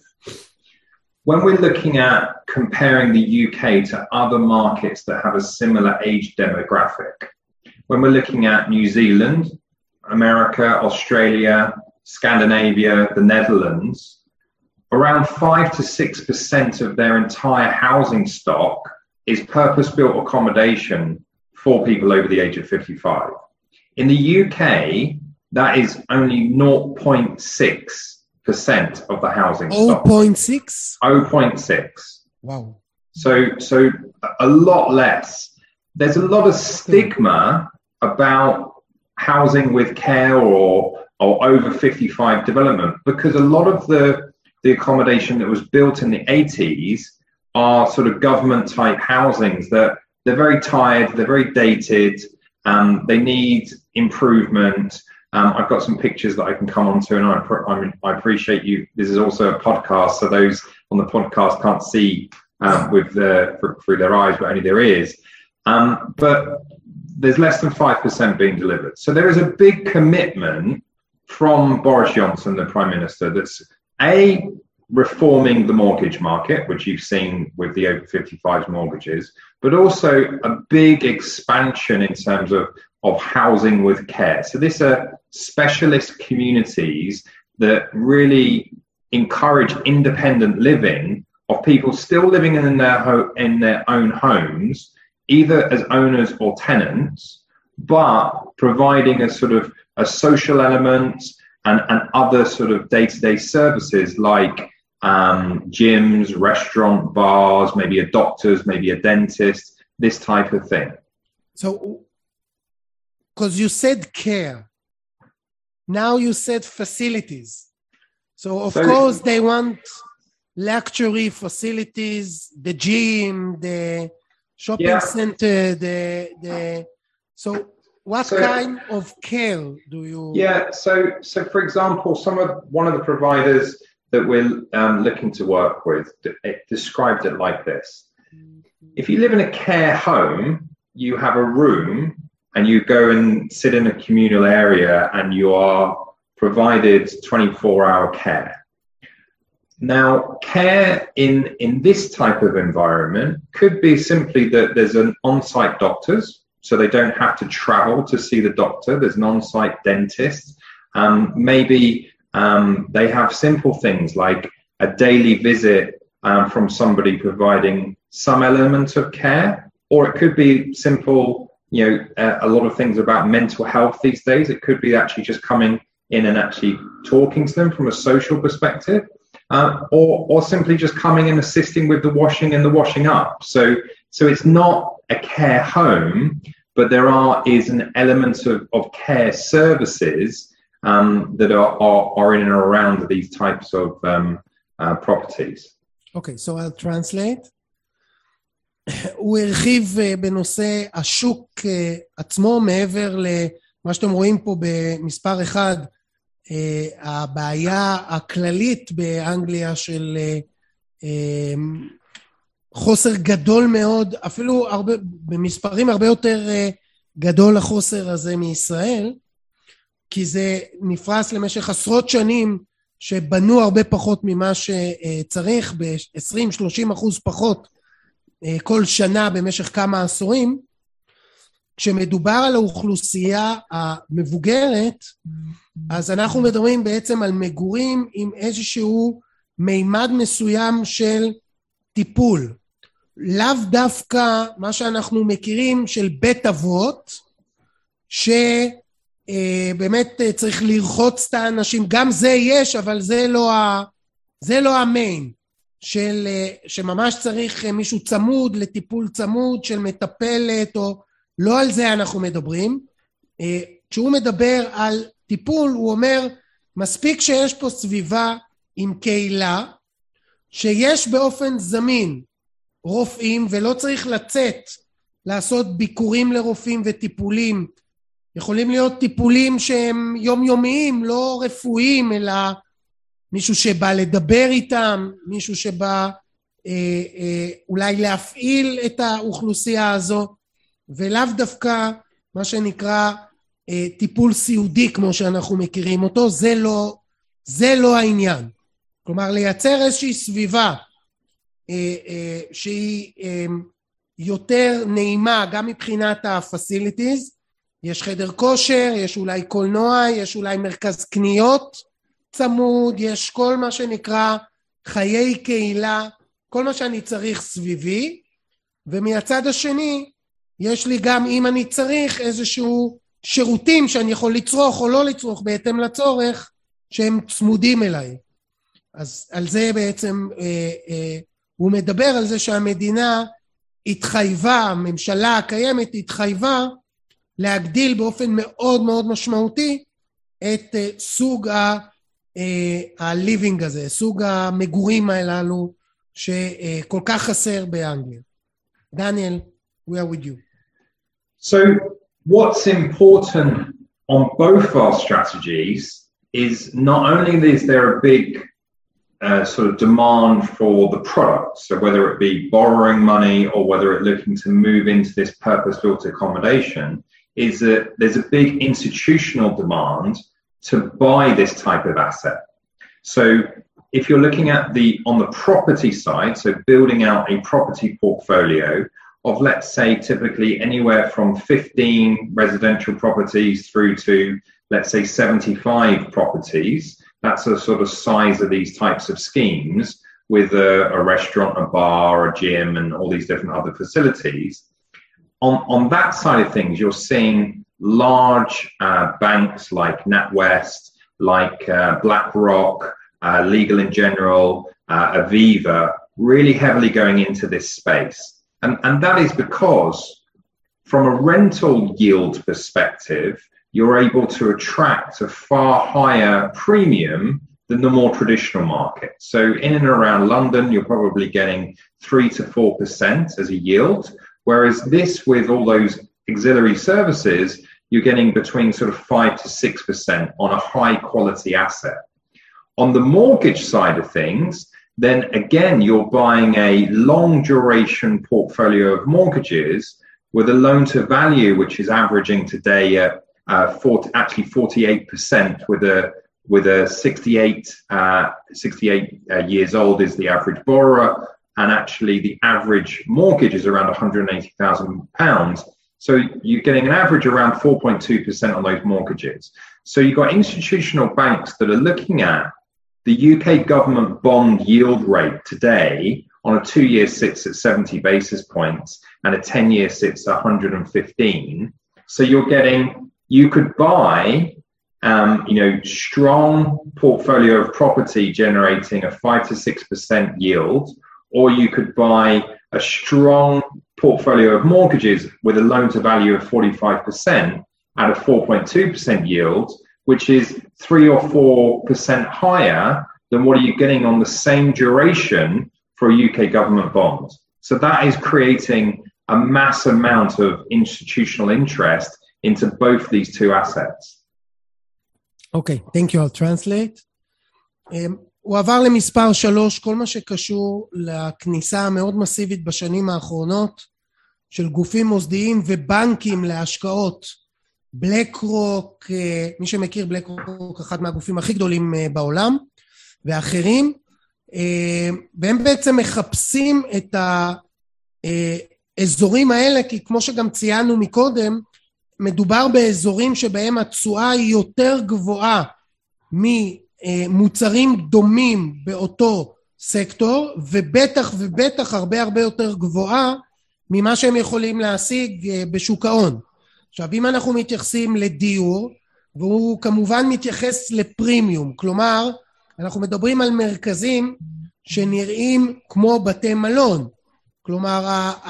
when we're looking at comparing the U K to other markets that have a similar age demographic, when we're looking at New Zealand, America, Australia, Scandinavia, the Netherlands, around five to six percent of their entire housing stock is purpose-built accommodation for people over the age of fifty-five. In the U K, that is only zero point six percent of the housing stock. zero point six? zero point six. Wow. So, so a lot less. There's a lot of stigma about housing with care or, or over fifty-five development, because a lot of the, the accommodation that was built in the eighties are sort of government type housings that they're very tired, they're very dated, um, they need improvement. Um, I've got some pictures that I can come on to, and I, I, I appreciate you. This is also a podcast, so those on the podcast can't see um, with the, through their eyes, but only their ears. Um, but there's less than five percent being delivered. So there is a big commitment from Boris Johnson, the Prime Minister, that's A, reforming the mortgage market, which you've seen with the over fifty-fives mortgages, but also a big expansion in terms of, of housing with care. So these are specialist communities that really encourage independent living of people still living in their, ho- in their own homes, either as owners or tenants, but providing a sort of a social element and, and other sort of day-to-day services like Um, gyms, restaurant, bars, maybe a doctor's, maybe a dentist, this type of thing. So, because you said care, now you said facilities. So, of so, course, they want luxury facilities, the gym, the shopping yeah. center, the the. So, what so, kind of care do you? Yeah. So, so for example, some of one of the providers that we're um, looking to work with, it described it like this. If you live in a care home, you have a room and you go and sit in a communal area and you are provided twenty-four hour care. Now, care in, in this type of environment could be simply that there's an on-site doctors, so they don't have to travel to see the doctor. There's an on-site dentist. Um, maybe Um, they have simple things like a daily visit um, from somebody providing some element of care, or it could be simple, you know, uh, a lot of things about mental health these days. It could be actually just coming in and actually talking to them from a social perspective, uh, or, or simply just coming and assisting with the washing and the washing up. So, so it's not a care home, but there are is an element of, of care services Um, that are, are, are in and around these types of um, uh, properties. Okay, so I'll translate. הוא הרחיב בנושא השוק עצמו, מעבר למה שאתם רואים פה במספר אחד, הבעיה הכללית באנגליה של חוסר גדול מאוד, אפילו הרבה, במספרים הרבה יותר גדול החוסר הזה מישראל, כי זה נפרס למשך עשרות שנים שבנו הרבה פחות ממה שצריך, ב-עשרים שלושים אחוז פחות כל שנה במשך כמה עשורים. כשמדובר על האוכלוסייה המבוגרת, אז אנחנו מדברים בעצם על מגורים עם איזשהו מימד מסוים של טיפול. לאו דווקא מה שאנחנו מכירים של בית אבות, שבאמת צריך לרחוץ את האנשים, גם זה יש, אבל זה לא, ה... זה לא המיין, של, שממש צריך מישהו צמוד, לטיפול צמוד של מטפלת, או לא על זה אנחנו מדברים. כשהוא מדבר על טיפול, הוא אומר, מספיק שיש פה סביבה עם קהילה, שיש באופן זמין רופאים, ולא צריך לצאת, לעשות ביקורים לרופאים וטיפולים. יכולים להיות טיפולים שהם יומיומיים, לא רפואיים, אלא מישהו שבא לדבר איתם, מישהו שבא אה, אה, אולי להפעיל את האוכלוסייה הזו, ולאו דווקא מה שנקרא אה, טיפול סיעודי כמו שאנחנו מכירים אותו, זה לא, זה לא העניין. כלומר, לייצר איזושהי סביבה אה, אה, שהיא אה, יותר נעימה, גם מבחינת ה-facilities, יש חדר כושר, יש אולי קולנוע, יש אולי מרכז קניות צמוד, יש כל מה שנקרא חיי קהילה, כל מה שאני צריך סביבי, ומהצד השני, יש לי גם אם אני צריך איזשהו שירותים שאני יכול לצרוך או לא לצרוך בהתאם לצורך, שהם צמודים אליי. אז על זה בעצם אה, אה, הוא מדבר על זה שהמדינה התחייבה, הממשלה הקיימת התחייבה, להגדיל באופן מאוד מאוד משמעותי את uh, סוג ה-living uh, הזה, סוג המגורים הללו שכל uh, כך חסר באנגליה. דניאל, we are with you. So what's important on both our strategies is not only is there a big uh, sort of demand for the product, so whether it be borrowing money or whether it's looking to move into this purpose-built accommodation, is that there's a big institutional demand to buy this type of asset. So if you're looking at the on the property side, so building out a property portfolio of, let's say, typically anywhere from fifteen residential properties through to, let's say, seventy-five properties, that's the sort of size of these types of schemes with a, a restaurant, a bar, a gym, and all these different other facilities. On, on that side of things, you're seeing large uh, banks like NatWest, like uh, BlackRock, uh, Legal and General, uh, Aviva, really heavily going into this space. And, and that is because from a rental yield perspective, you're able to attract a far higher premium than the more traditional market. So in and around London, you're probably getting three to four percent as a yield. Whereas this, with all those auxiliary services, you're getting between sort of five to six percent on a high quality asset. On the mortgage side of things, then again, you're buying a long duration portfolio of mortgages with a loan to value, which is averaging today at uh, forty, actually forty-eight percent with a with a sixty-eight, uh, sixty-eight uh, years old is the average borrower. And actually the average mortgage is around one hundred eighty thousand pounds. So you're getting an average around four point two percent on those mortgages. So you've got institutional banks that are looking at the U K government bond yield rate today on a two-year sits at seventy basis points and a ten-year sits at one hundred fifteen. So you're getting, you could buy, um, you know, strong portfolio of property generating a five to six percent yield, or you could buy a strong portfolio of mortgages with a loan to value of forty-five percent at a four point two percent yield, which is three or four percent higher than what are you getting on the same duration for a U K government bond. So that is creating a mass amount of institutional interest into both these two assets. Okay, thank you. I'll translate. Um, הוא עבר למספר שלוש, כל מה שקשור לכניסה המאוד מסיבית בשנים האחרונות של גופים מוסדיים ובנקים להשקעות. בלק רוק, מי שמכיר בלק רוק, אחד מהגופים הכי גדולים בעולם, ואחרים, והם בעצם מחפשים את האזורים האלה, כי כמו שגם ציינו מקודם, מדובר באזורים שבהם התשואה היא יותר גבוהה ממוצרים דומים באותו סקטור, ובטח ובטח הרבה הרבה יותר גבוהה ממה שהם יכולים להשיג בשוק ההון. עכשיו, אם אנחנו מתייחסים לדיור, והוא כמובן מתייחס לפרימיום, כלומר, אנחנו מדברים על מרכזים שנראים כמו בתי מלון. כלומר,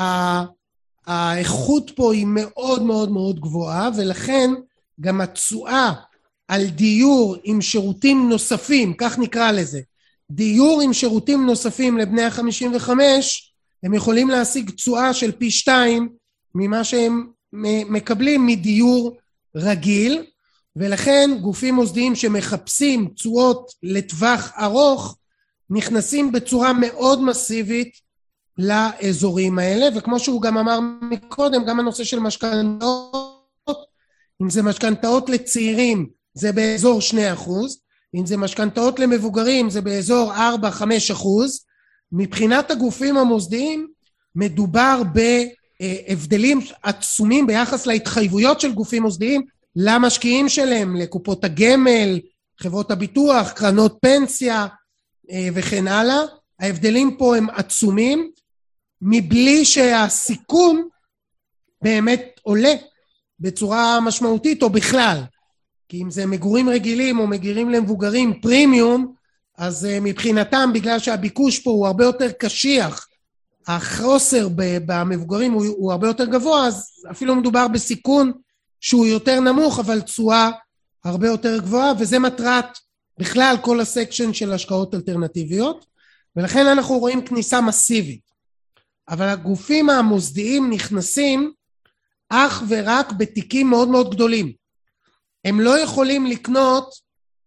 האיכות פה היא מאוד מאוד מאוד גבוהה, ולכן גם התשואה על דיור עם שירותים נוספים, כך נקרא לזה, דיור עם שירותים נוספים לבני ה-חמישים וחמש, הם יכולים להשיג תשואה של פי שתיים ממה שהם מקבלים מדיור רגיל, ולכן גופים מוסדיים שמחפשים תשואות לטווח ארוך, נכנסים בצורה מאוד מסיבית לאזורים האלה, וכמו שהוא גם אמר מקודם, גם הנושא של משכנתאות, אם זה משכנתאות לצעירים, זה באזור שני אחוז, אם זה משכנתאות למבוגרים, זה באזור ארבע עד חמש אחוז, מבחינת הגופים המוסדיים, מדובר בהבדלים עצומים ביחס להתחייבויות של גופים מוסדיים, למשקיעים שלהם, לקופות הגמל, חברות הביטוח, קרנות פנסיה וכן הלאה. ההבדלים פה הם עצומים, מבלי שהסיכון באמת עולה בצורה משמעותית או בכלל. כי אם זה מגורים רגילים או מגורים למבוגרים פרימיום, אז מבחינתם, בגלל שהביקוש פה הוא הרבה יותר קשיח, החוסר במבוגרים הוא, הוא הרבה יותר גבוה, אז אפילו מדובר בסיכון שהוא יותר נמוך, אבל תשואה הרבה יותר גבוהה, וזה מטרת בכלל כל הסקשן של השקעות אלטרנטיביות, ולכן אנחנו רואים כניסה מסיבית. אבל הגופים המוסדיים נכנסים אך ורק בתיקים מאוד מאוד גדולים. הם לא יכולים לקנות,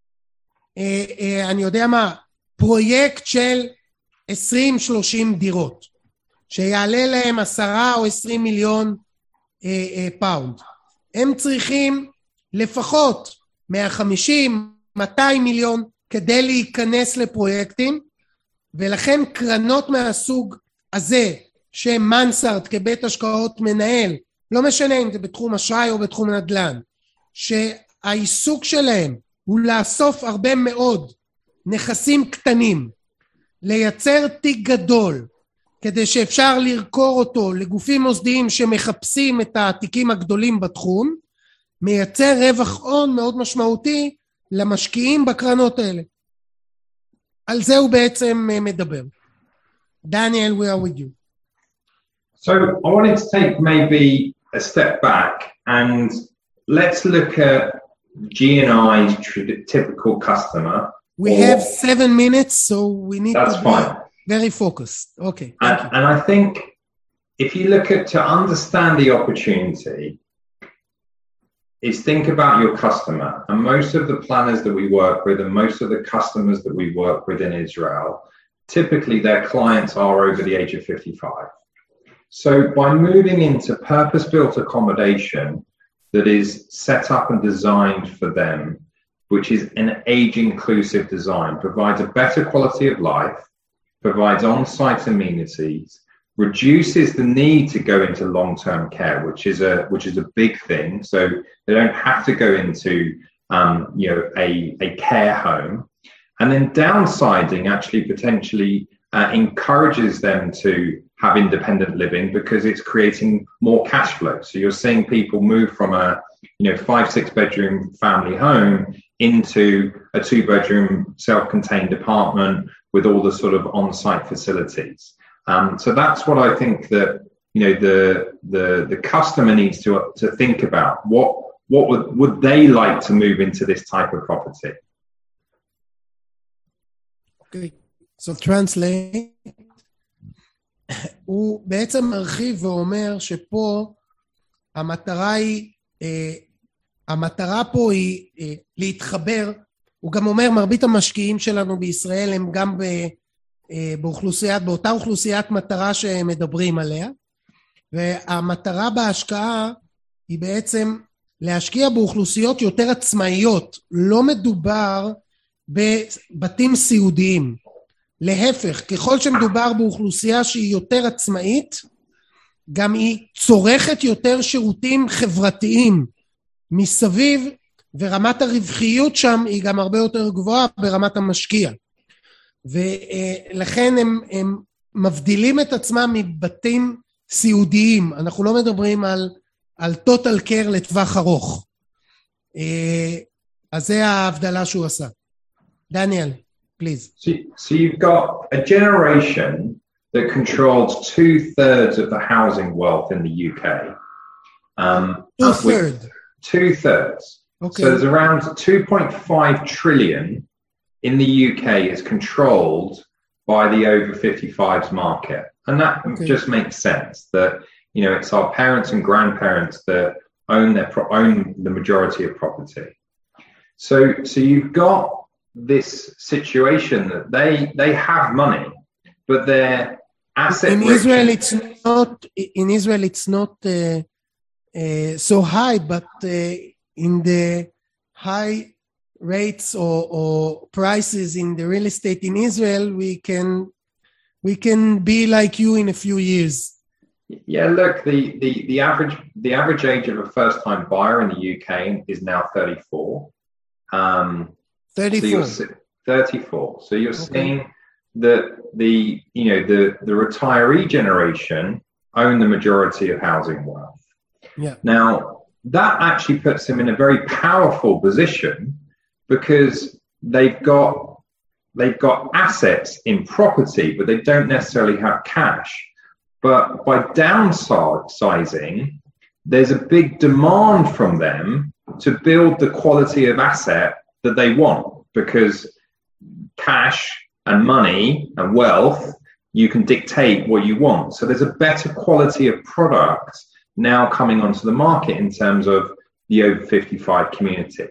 אה, אה, אני יודע מה, פרויקט של עשרים שלושים דירות, שיעלה להם עשרה או עשרים מיליון אה, אה, פאונד. הם צריכים לפחות מאה וחמישים מאתיים מיליון כדי להיכנס לפרויקטים, ולכן קרנות מהסוג הזה, שמנסרד כבית השקעות מנהל, לא משנה אם זה בתחום אשראי או בתחום נדל"ן, שהעיסוק שלהם הוא לאסוף הרבה מאוד נכסים קטנים, לייצר תיק גדול, כדי שאפשר לרכור אותו לגופים מוסדיים שמחפשים את התיקים הגדולים בתחום, מייצר רווח הון מאוד משמעותי למשקיעים בקרנות האלה. על זה הוא בעצם מדבר. דניאל, we are with you. So I wanted to take maybe a step back and let's look at G and I's typical customer. We or, have seven minutes, so we need to be fine. very focused. Okay. And, and I think if you look at to understand the opportunity, is think about your customer. And most of the planners that we work with and most of the customers that we work with in Israel, typically their clients are over the age of fifty-five. So by moving into purpose-built accommodation that is set up and designed for them, which is an age-inclusive design, provides a better quality of life, provides on-site amenities, reduces the need to go into long-term care, which is a which is a big thing. So they don't have to go into um, you know a, a care home, and then downsizing actually potentially uh, encourages them to have independent living because it's creating more cash flow. So you're seeing people move from a you know five six bedroom family home into a two bedroom self-contained apartment with all the sort of on-site facilities. Um, so that's what I think that you know the the the customer needs to to think about. What what would would they like to move into this type of property? Okay, so translate. הוא בעצם מרחיב ואומר שפה המטרה היא המטרה פה היא להתחבר. הוא גם אומר מרבית המשקיעים שלנו בישראל הם גם ב באוכלוסיית, באותה אוכלוסיית מטרה שמדברים עליה, והמטרה בהשקעה היא בעצם להשקיע באוכלוסיות יותר עצמאיות. לא מדובר בבתים סיעודיים, להפך, ככל שמדובר באוכלוסייה שהיא יותר עצמאית, גם היא צורכת יותר שירותים חברתיים מסביב, ורמת הרווחיות שם היא גם הרבה יותר גבוהה ברמת המשקיע. ולכן הם, הם מבדילים את עצמם מבתים סיעודיים. אנחנו לא מדברים על, על total care לטווח ארוך. אז זה ההבדלה שהוא עשה. דניאל. please. So, so you've got a generation that controls two thirds of the housing wealth in the U K. Um, Two thirds. Two thirds. Okay. So there's around two point five trillion in the U K is controlled by the over fifty-fives market. And that okay. just makes sense that, you know, it's our parents and grandparents that own their pro- own the majority of property. So, so you've got this situation that they they have money, but their asset in rich- Israel it's not in Israel it's not uh, uh, so high, but uh, in the high rates or, or prices in the real estate in Israel, we can we can be like you in a few years. Yeah, look, the the the average the average age of a first time buyer in the U K is now thirty-four. Um, thirty-four. So thirty-four. So you're okay. seeing that the you know the the retiree generation own the majority of housing wealth. Yeah. Now that actually puts them in a very powerful position because they've got they've got assets in property, but they don't necessarily have cash. But by downsizing, there's a big demand from them to build the quality of asset that they want, because cash and money and wealth, you can dictate what you want. So there's a better quality of product now coming onto the market in terms of the over fifty-five community.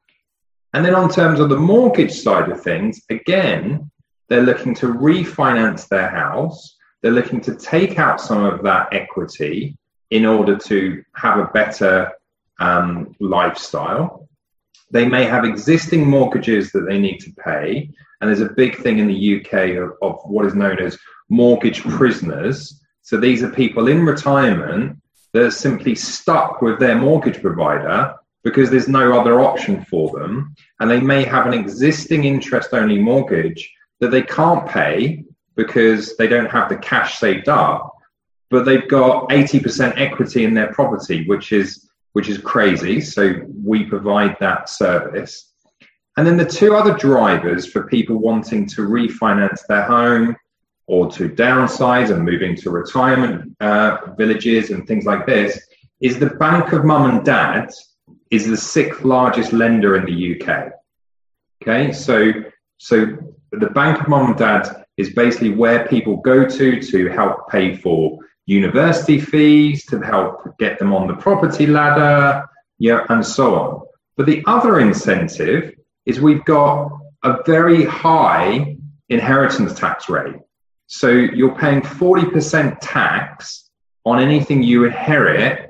And then on terms of the mortgage side of things, again, they're looking to refinance their house. They're looking to take out some of that equity in order to have a better um, lifestyle. They may have existing mortgages that they need to pay. And there's a big thing in the U K of, of what is known as mortgage prisoners. So these are people in retirement that are simply stuck with their mortgage provider because there's no other option for them. And they may have an existing interest-only mortgage that they can't pay because they don't have the cash saved up, but they've got eighty percent equity in their property, which is which is crazy. So we provide that service. And then the two other drivers for people wanting to refinance their home or to downsize and move into retirement uh, villages and things like this is the Bank of Mum and Dad is the sixth largest lender in the U K. Okay, so so the Bank of Mum and Dad is basically where people go to to help pay for university fees, to help get them on the property ladder, yeah, and so on. But the other incentive is we've got a very high inheritance tax rate. So you're paying forty percent tax on anything you inherit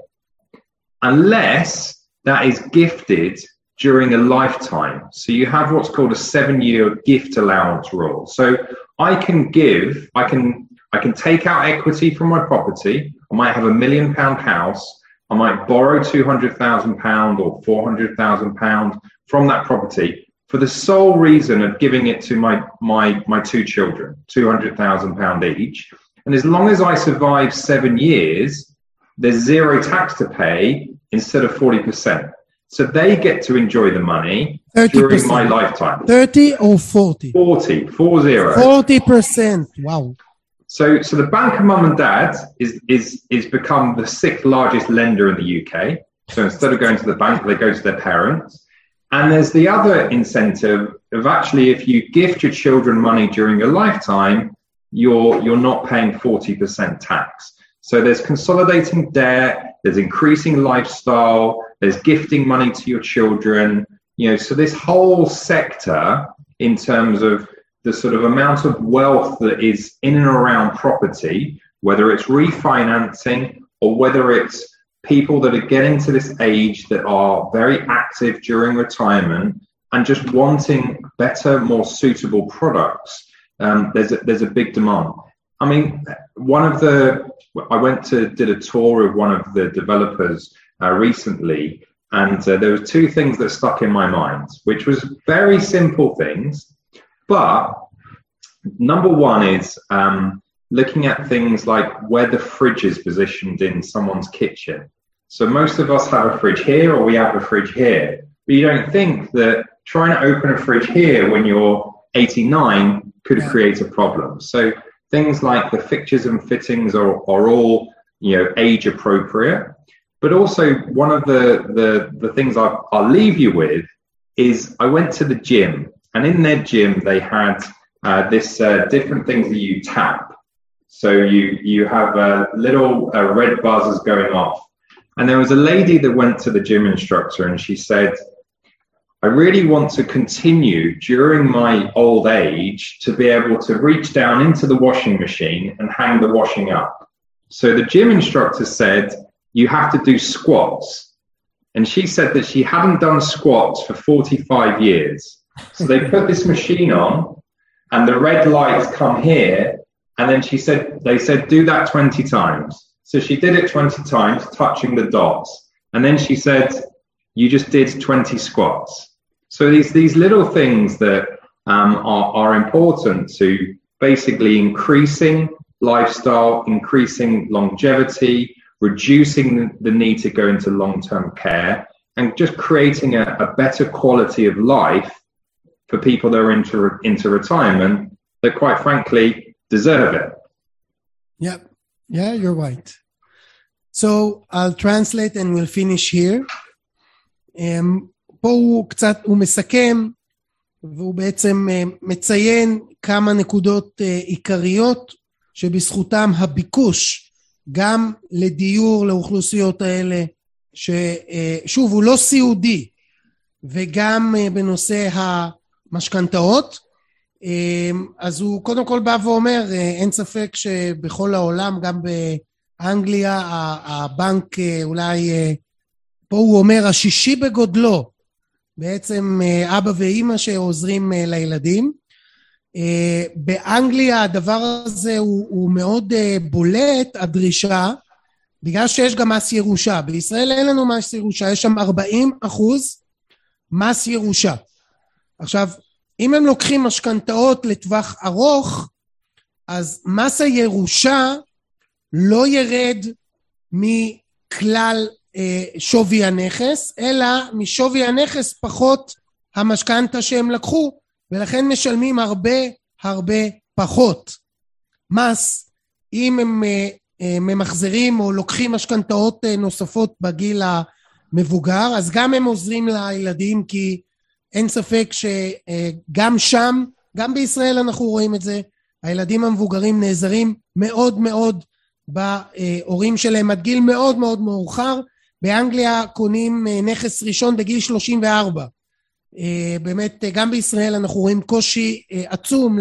unless that is gifted during a lifetime. So you have what's called a seven-year gift allowance rule. So I can give, I can, I can take out equity from my property. I might have a million pound house. I might borrow two hundred thousand pounds or four hundred thousand pounds from that property for the sole reason of giving it to my, my, my two children, two hundred thousand pounds each. And as long as I survive seven years, there's zero tax to pay instead of forty percent. So they get to enjoy the money during my lifetime. thirty or forty? forty, four zero. forty percent, wow. So, so the Bank of Mum and Dad is, is, is become the sixth largest lender in the U K. So instead of going to the bank, they go to their parents. And there's the other incentive of actually, if you gift your children money during your lifetime, you're, you're not paying forty percent tax. So there's consolidating debt, there's increasing lifestyle, there's gifting money to your children, you know, so this whole sector in terms of the sort of amount of wealth that is in and around property, whether it's refinancing or whether it's people that are getting to this age that are very active during retirement and just wanting better, more suitable products, um, there's a, there's a big demand. I mean, one of the, I went to, did a tour of one of the developers uh, recently, and uh, there were two things that stuck in my mind, which was very simple things. But number one is um, looking at things like where the fridge is positioned in someone's kitchen. So most of us have a fridge here or we have a fridge here. But you don't think that trying to open a fridge here when you're eighty-nine could Yeah. create a problem. So things like the fixtures and fittings are, are all, you know, age appropriate. But also one of the, the, the things I'll, I'll leave you with is I went to the gym, and in their gym they had uh, this uh, different things that you tap. So you, you have uh, little uh, red buzzers going off. And there was a lady that went to the gym instructor and she said, I really want to continue during my old age to be able to reach down into the washing machine and hang the washing up. So the gym instructor said, you have to do squats. And she said that she hadn't done squats for forty-five years. So they put this machine on and the red lights come here. And then she said, they said, do that twenty times. So she did it twenty times, touching the dots. And then she said, you just did twenty squats. So these, these little things that um, are, are important to basically increasing lifestyle, increasing longevity, reducing the need to go into long-term care, and just creating a, a better quality of life for people that are into, into retirement that, quite frankly, deserve it. Yeah, yeah, you're right. So I'll translate and we'll finish here. Um, פה הוא קצת, הוא מסכם, והוא בעצם uh, מציין כמה נקודות uh, עיקריות שבזכותם הביקוש גם לדיור לאוכלוסיות האלה, ששוב הוא לא סיעודי, וגם uh, בנושא המשכנתאות. uh, אז הוא קודם כל בא ואומר, uh, אין ספק שבכל העולם, גם באנגליה, הבנק uh, אולי, uh, פה הוא אומר השישי בגודלו, בעצם uh, אבא ואמא שעוזרים uh, לילדים. Uh, באנגליה הדבר הזה הוא, הוא מאוד uh, בולט, הדרישה, בגלל שיש גם מס ירושה. בישראל אין לנו מס ירושה, יש שם ארבעים אחוז מס ירושה. עכשיו, אם הם לוקחים משכנתאות לטווח ארוך, אז מס הירושה לא ירד מכלל uh, שווי הנכס, אלא משווי הנכס פחות המשכנתה שהם לקחו, ולכן משלמים הרבה הרבה פחות מס אם הם ממחזרים או לוקחים משכנתאות נוספות בגיל המבוגר. אז גם הם עוזרים לילדים, כי אין ספק שגם שם, גם בישראל אנחנו רואים את זה, הילדים המבוגרים נעזרים מאוד מאוד בהורים שלהם עד גיל מאוד מאוד מאוחר. באנגליה קונים נכס ראשון בגיל שלושים וארבע. באמת גם בישראל אנחנו רואים קושי עצום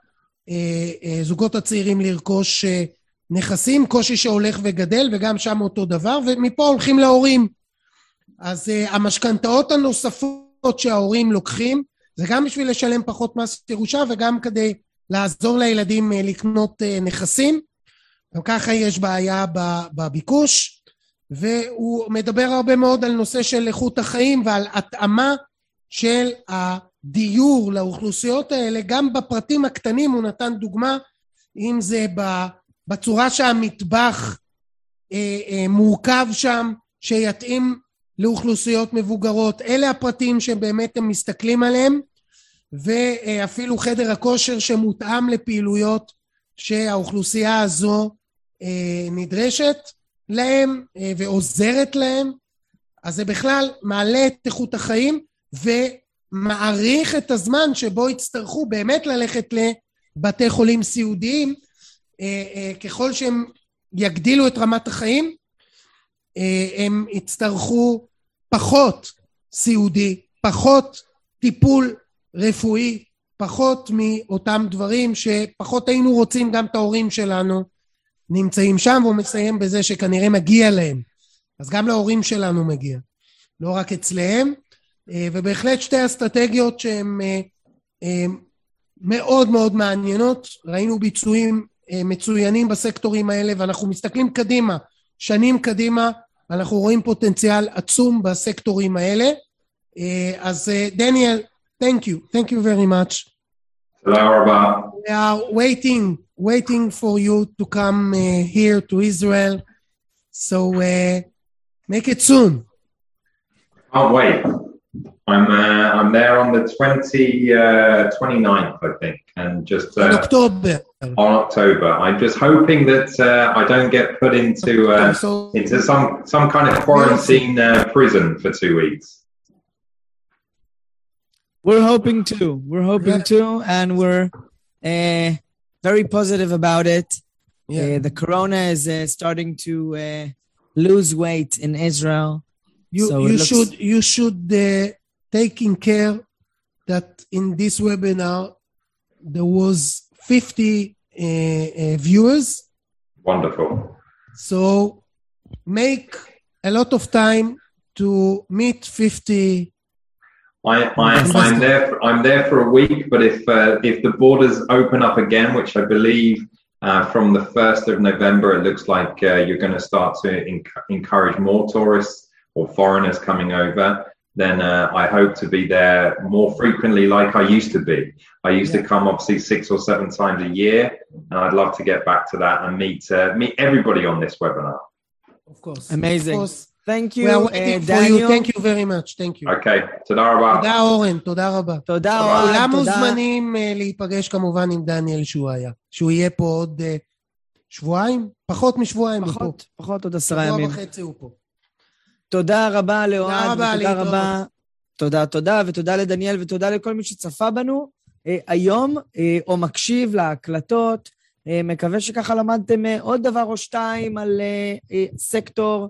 לזוגות הצעירים לרכוש נכסים, קושי שהולך וגדל, וגם שם אותו דבר, ומפה הולכים להורים. אז המשכנתאות הנוספות שההורים לוקחים, זה גם בשביל לשלם פחות מס ירושה, וגם כדי לעזור לילדים לקנות נכסים. גם ככה יש בעיה בביקוש, והוא מדבר הרבה מאוד על נושא של איכות החיים ועל התאמה של הדיור לאוכלוסיות האלה. גם בפרטים הקטנים הוא נתן דוגמה, אם זה בצורה שהמטבח אה, אה, מורכב שם, שיתאים לאוכלוסיות מבוגרות. אלה הפרטים שבאמת הם מסתכלים עליהם, ואפילו חדר הכושר שמותאם לפעילויות שהאוכלוסייה הזו אה, נדרשת להם אה, ועוזרת להם. אז זה בכלל מעלה את איכות החיים, ומעריך את הזמן שבו יצטרכו באמת ללכת לבתי חולים סיעודיים. ככל שהם יגדילו את רמת החיים, הם יצטרכו פחות סיעודי, פחות טיפול רפואי, פחות מאותם דברים שפחות היינו רוצים. גם את ההורים שלנו נמצאים שם, והוא מסיים בזה שכנראה מגיע להם. אז גם להורים שלנו מגיע, לא רק אצלהם. ובהחלט שתי אסטרטגיות שהן מאוד מאוד מעניינות. ראינו ביצועים מצוינים בסקטורים האלה, ואנחנו מסתכלים קדימה, שנים קדימה, אנחנו רואים פוטנציאל עצום בסקטורים האלה. אז דניאל, thank you, thank you very much. תודה רבה. We are waiting, waiting for you to come uh, here to Israel, so uh, make it soon. Can't wait. I'm uh, I'm there on the twenty, uh, twenty-ninth, I think, and just uh, in October. On October. I'm just hoping that uh, I don't get put into uh, so, into some some kind of quarantine uh, prison for two weeks. We're hoping to. We're hoping Yeah. to, and we're uh, very positive about it. Yeah. Uh, the corona is uh, starting to uh, lose weight in Israel. You So it you looks- should you should uh, taking care that in this webinar there was fifty uh, uh, viewers. Wonderful. So make a lot of time to meet fifty. I, I I'm there for, I'm there for a week, but if uh, if the borders open up again, which I believe uh, from the first of November, it looks like uh, you're going to start to enc- encourage more tourists or foreigners coming over, then uh, I hope to be there more frequently like I used to be. I used Yeah. to come obviously six or seven times a year, and I'd love to get back to that and meet uh, meet everybody on this webinar. Of course. Amazing. Of course. Thank you, We are uh, waiting for Daniel. you. Thank you very much. Thank you. Okay, תודה רבה. תודה אורן, תודה רבה. תודה, אוהד, כולם תודה. מוזמנים uh, להיפגש כמובן עם דניאל שהוא היה. שהוא יהיה פה עוד uh, שבועיים? פחות משבועיים הוא פה. פחות, פחות עוד עשרה שבוע ימים. וחצי הוא פה. תודה רבה לאוהד, רבה, ותודה להתראות. רבה. תודה, תודה, ותודה לדניאל, ותודה לכל מי שצפה בנו אה, היום, אה, או מקשיב להקלטות. אה, מקווה שככה למדתם אה, עוד דבר או שתיים על אה, אה, סקטור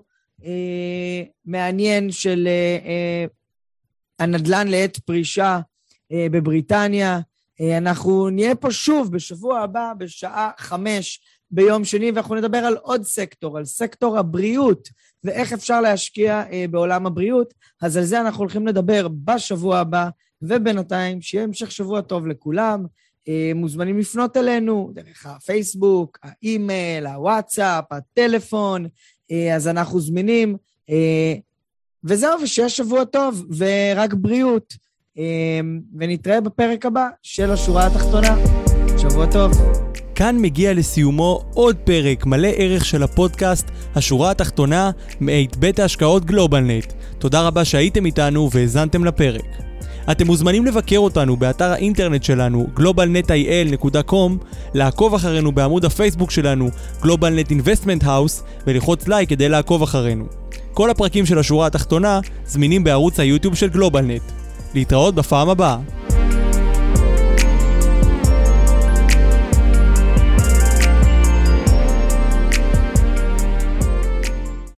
אה, מעניין של אה, אה, הנדל"ן לעת פרישה אה, בבריטניה. אה, אנחנו נהיה פה שוב בשבוע הבא בשעה חמש ביום שני, ואנחנו נדבר על עוד סקטור, על סקטור הבריאות, ואיך אפשר להשקיע אה, בעולם הבריאות. אז על זה אנחנו הולכים לדבר בשבוע הבא, ובינתיים שיהיה המשך שבוע טוב לכולם. אה, מוזמנים לפנות אלינו דרך הפייסבוק, האימייל, הוואטסאפ, הטלפון, אה, אז אנחנו זמינים. אה, וזהו, ושיהיה שבוע טוב, ורק בריאות. אה, ונתראה בפרק הבא של השורה התחתונה. שבוע טוב. כאן מגיע לסיומו עוד פרק מלא ערך של הפודקאסט השורה התחתונה מאת בית ההשקעות גלובלנט. תודה רבה שהייתם איתנו והזנתם לפרק. אתם מוזמנים לבקר אותנו באתר האינטרנט שלנו גלובלנט איי אל נקודה קום, לעקוב אחרינו בעמוד הפייסבוק שלנו גלובלנט אינבסטמנט האוס ולחוץ לייק כדי לעקוב אחרינו. כל הפרקים של השורה התחתונה זמינים בערוץ היוטיוב של גלובלנט. להתראות בפעם הבאה.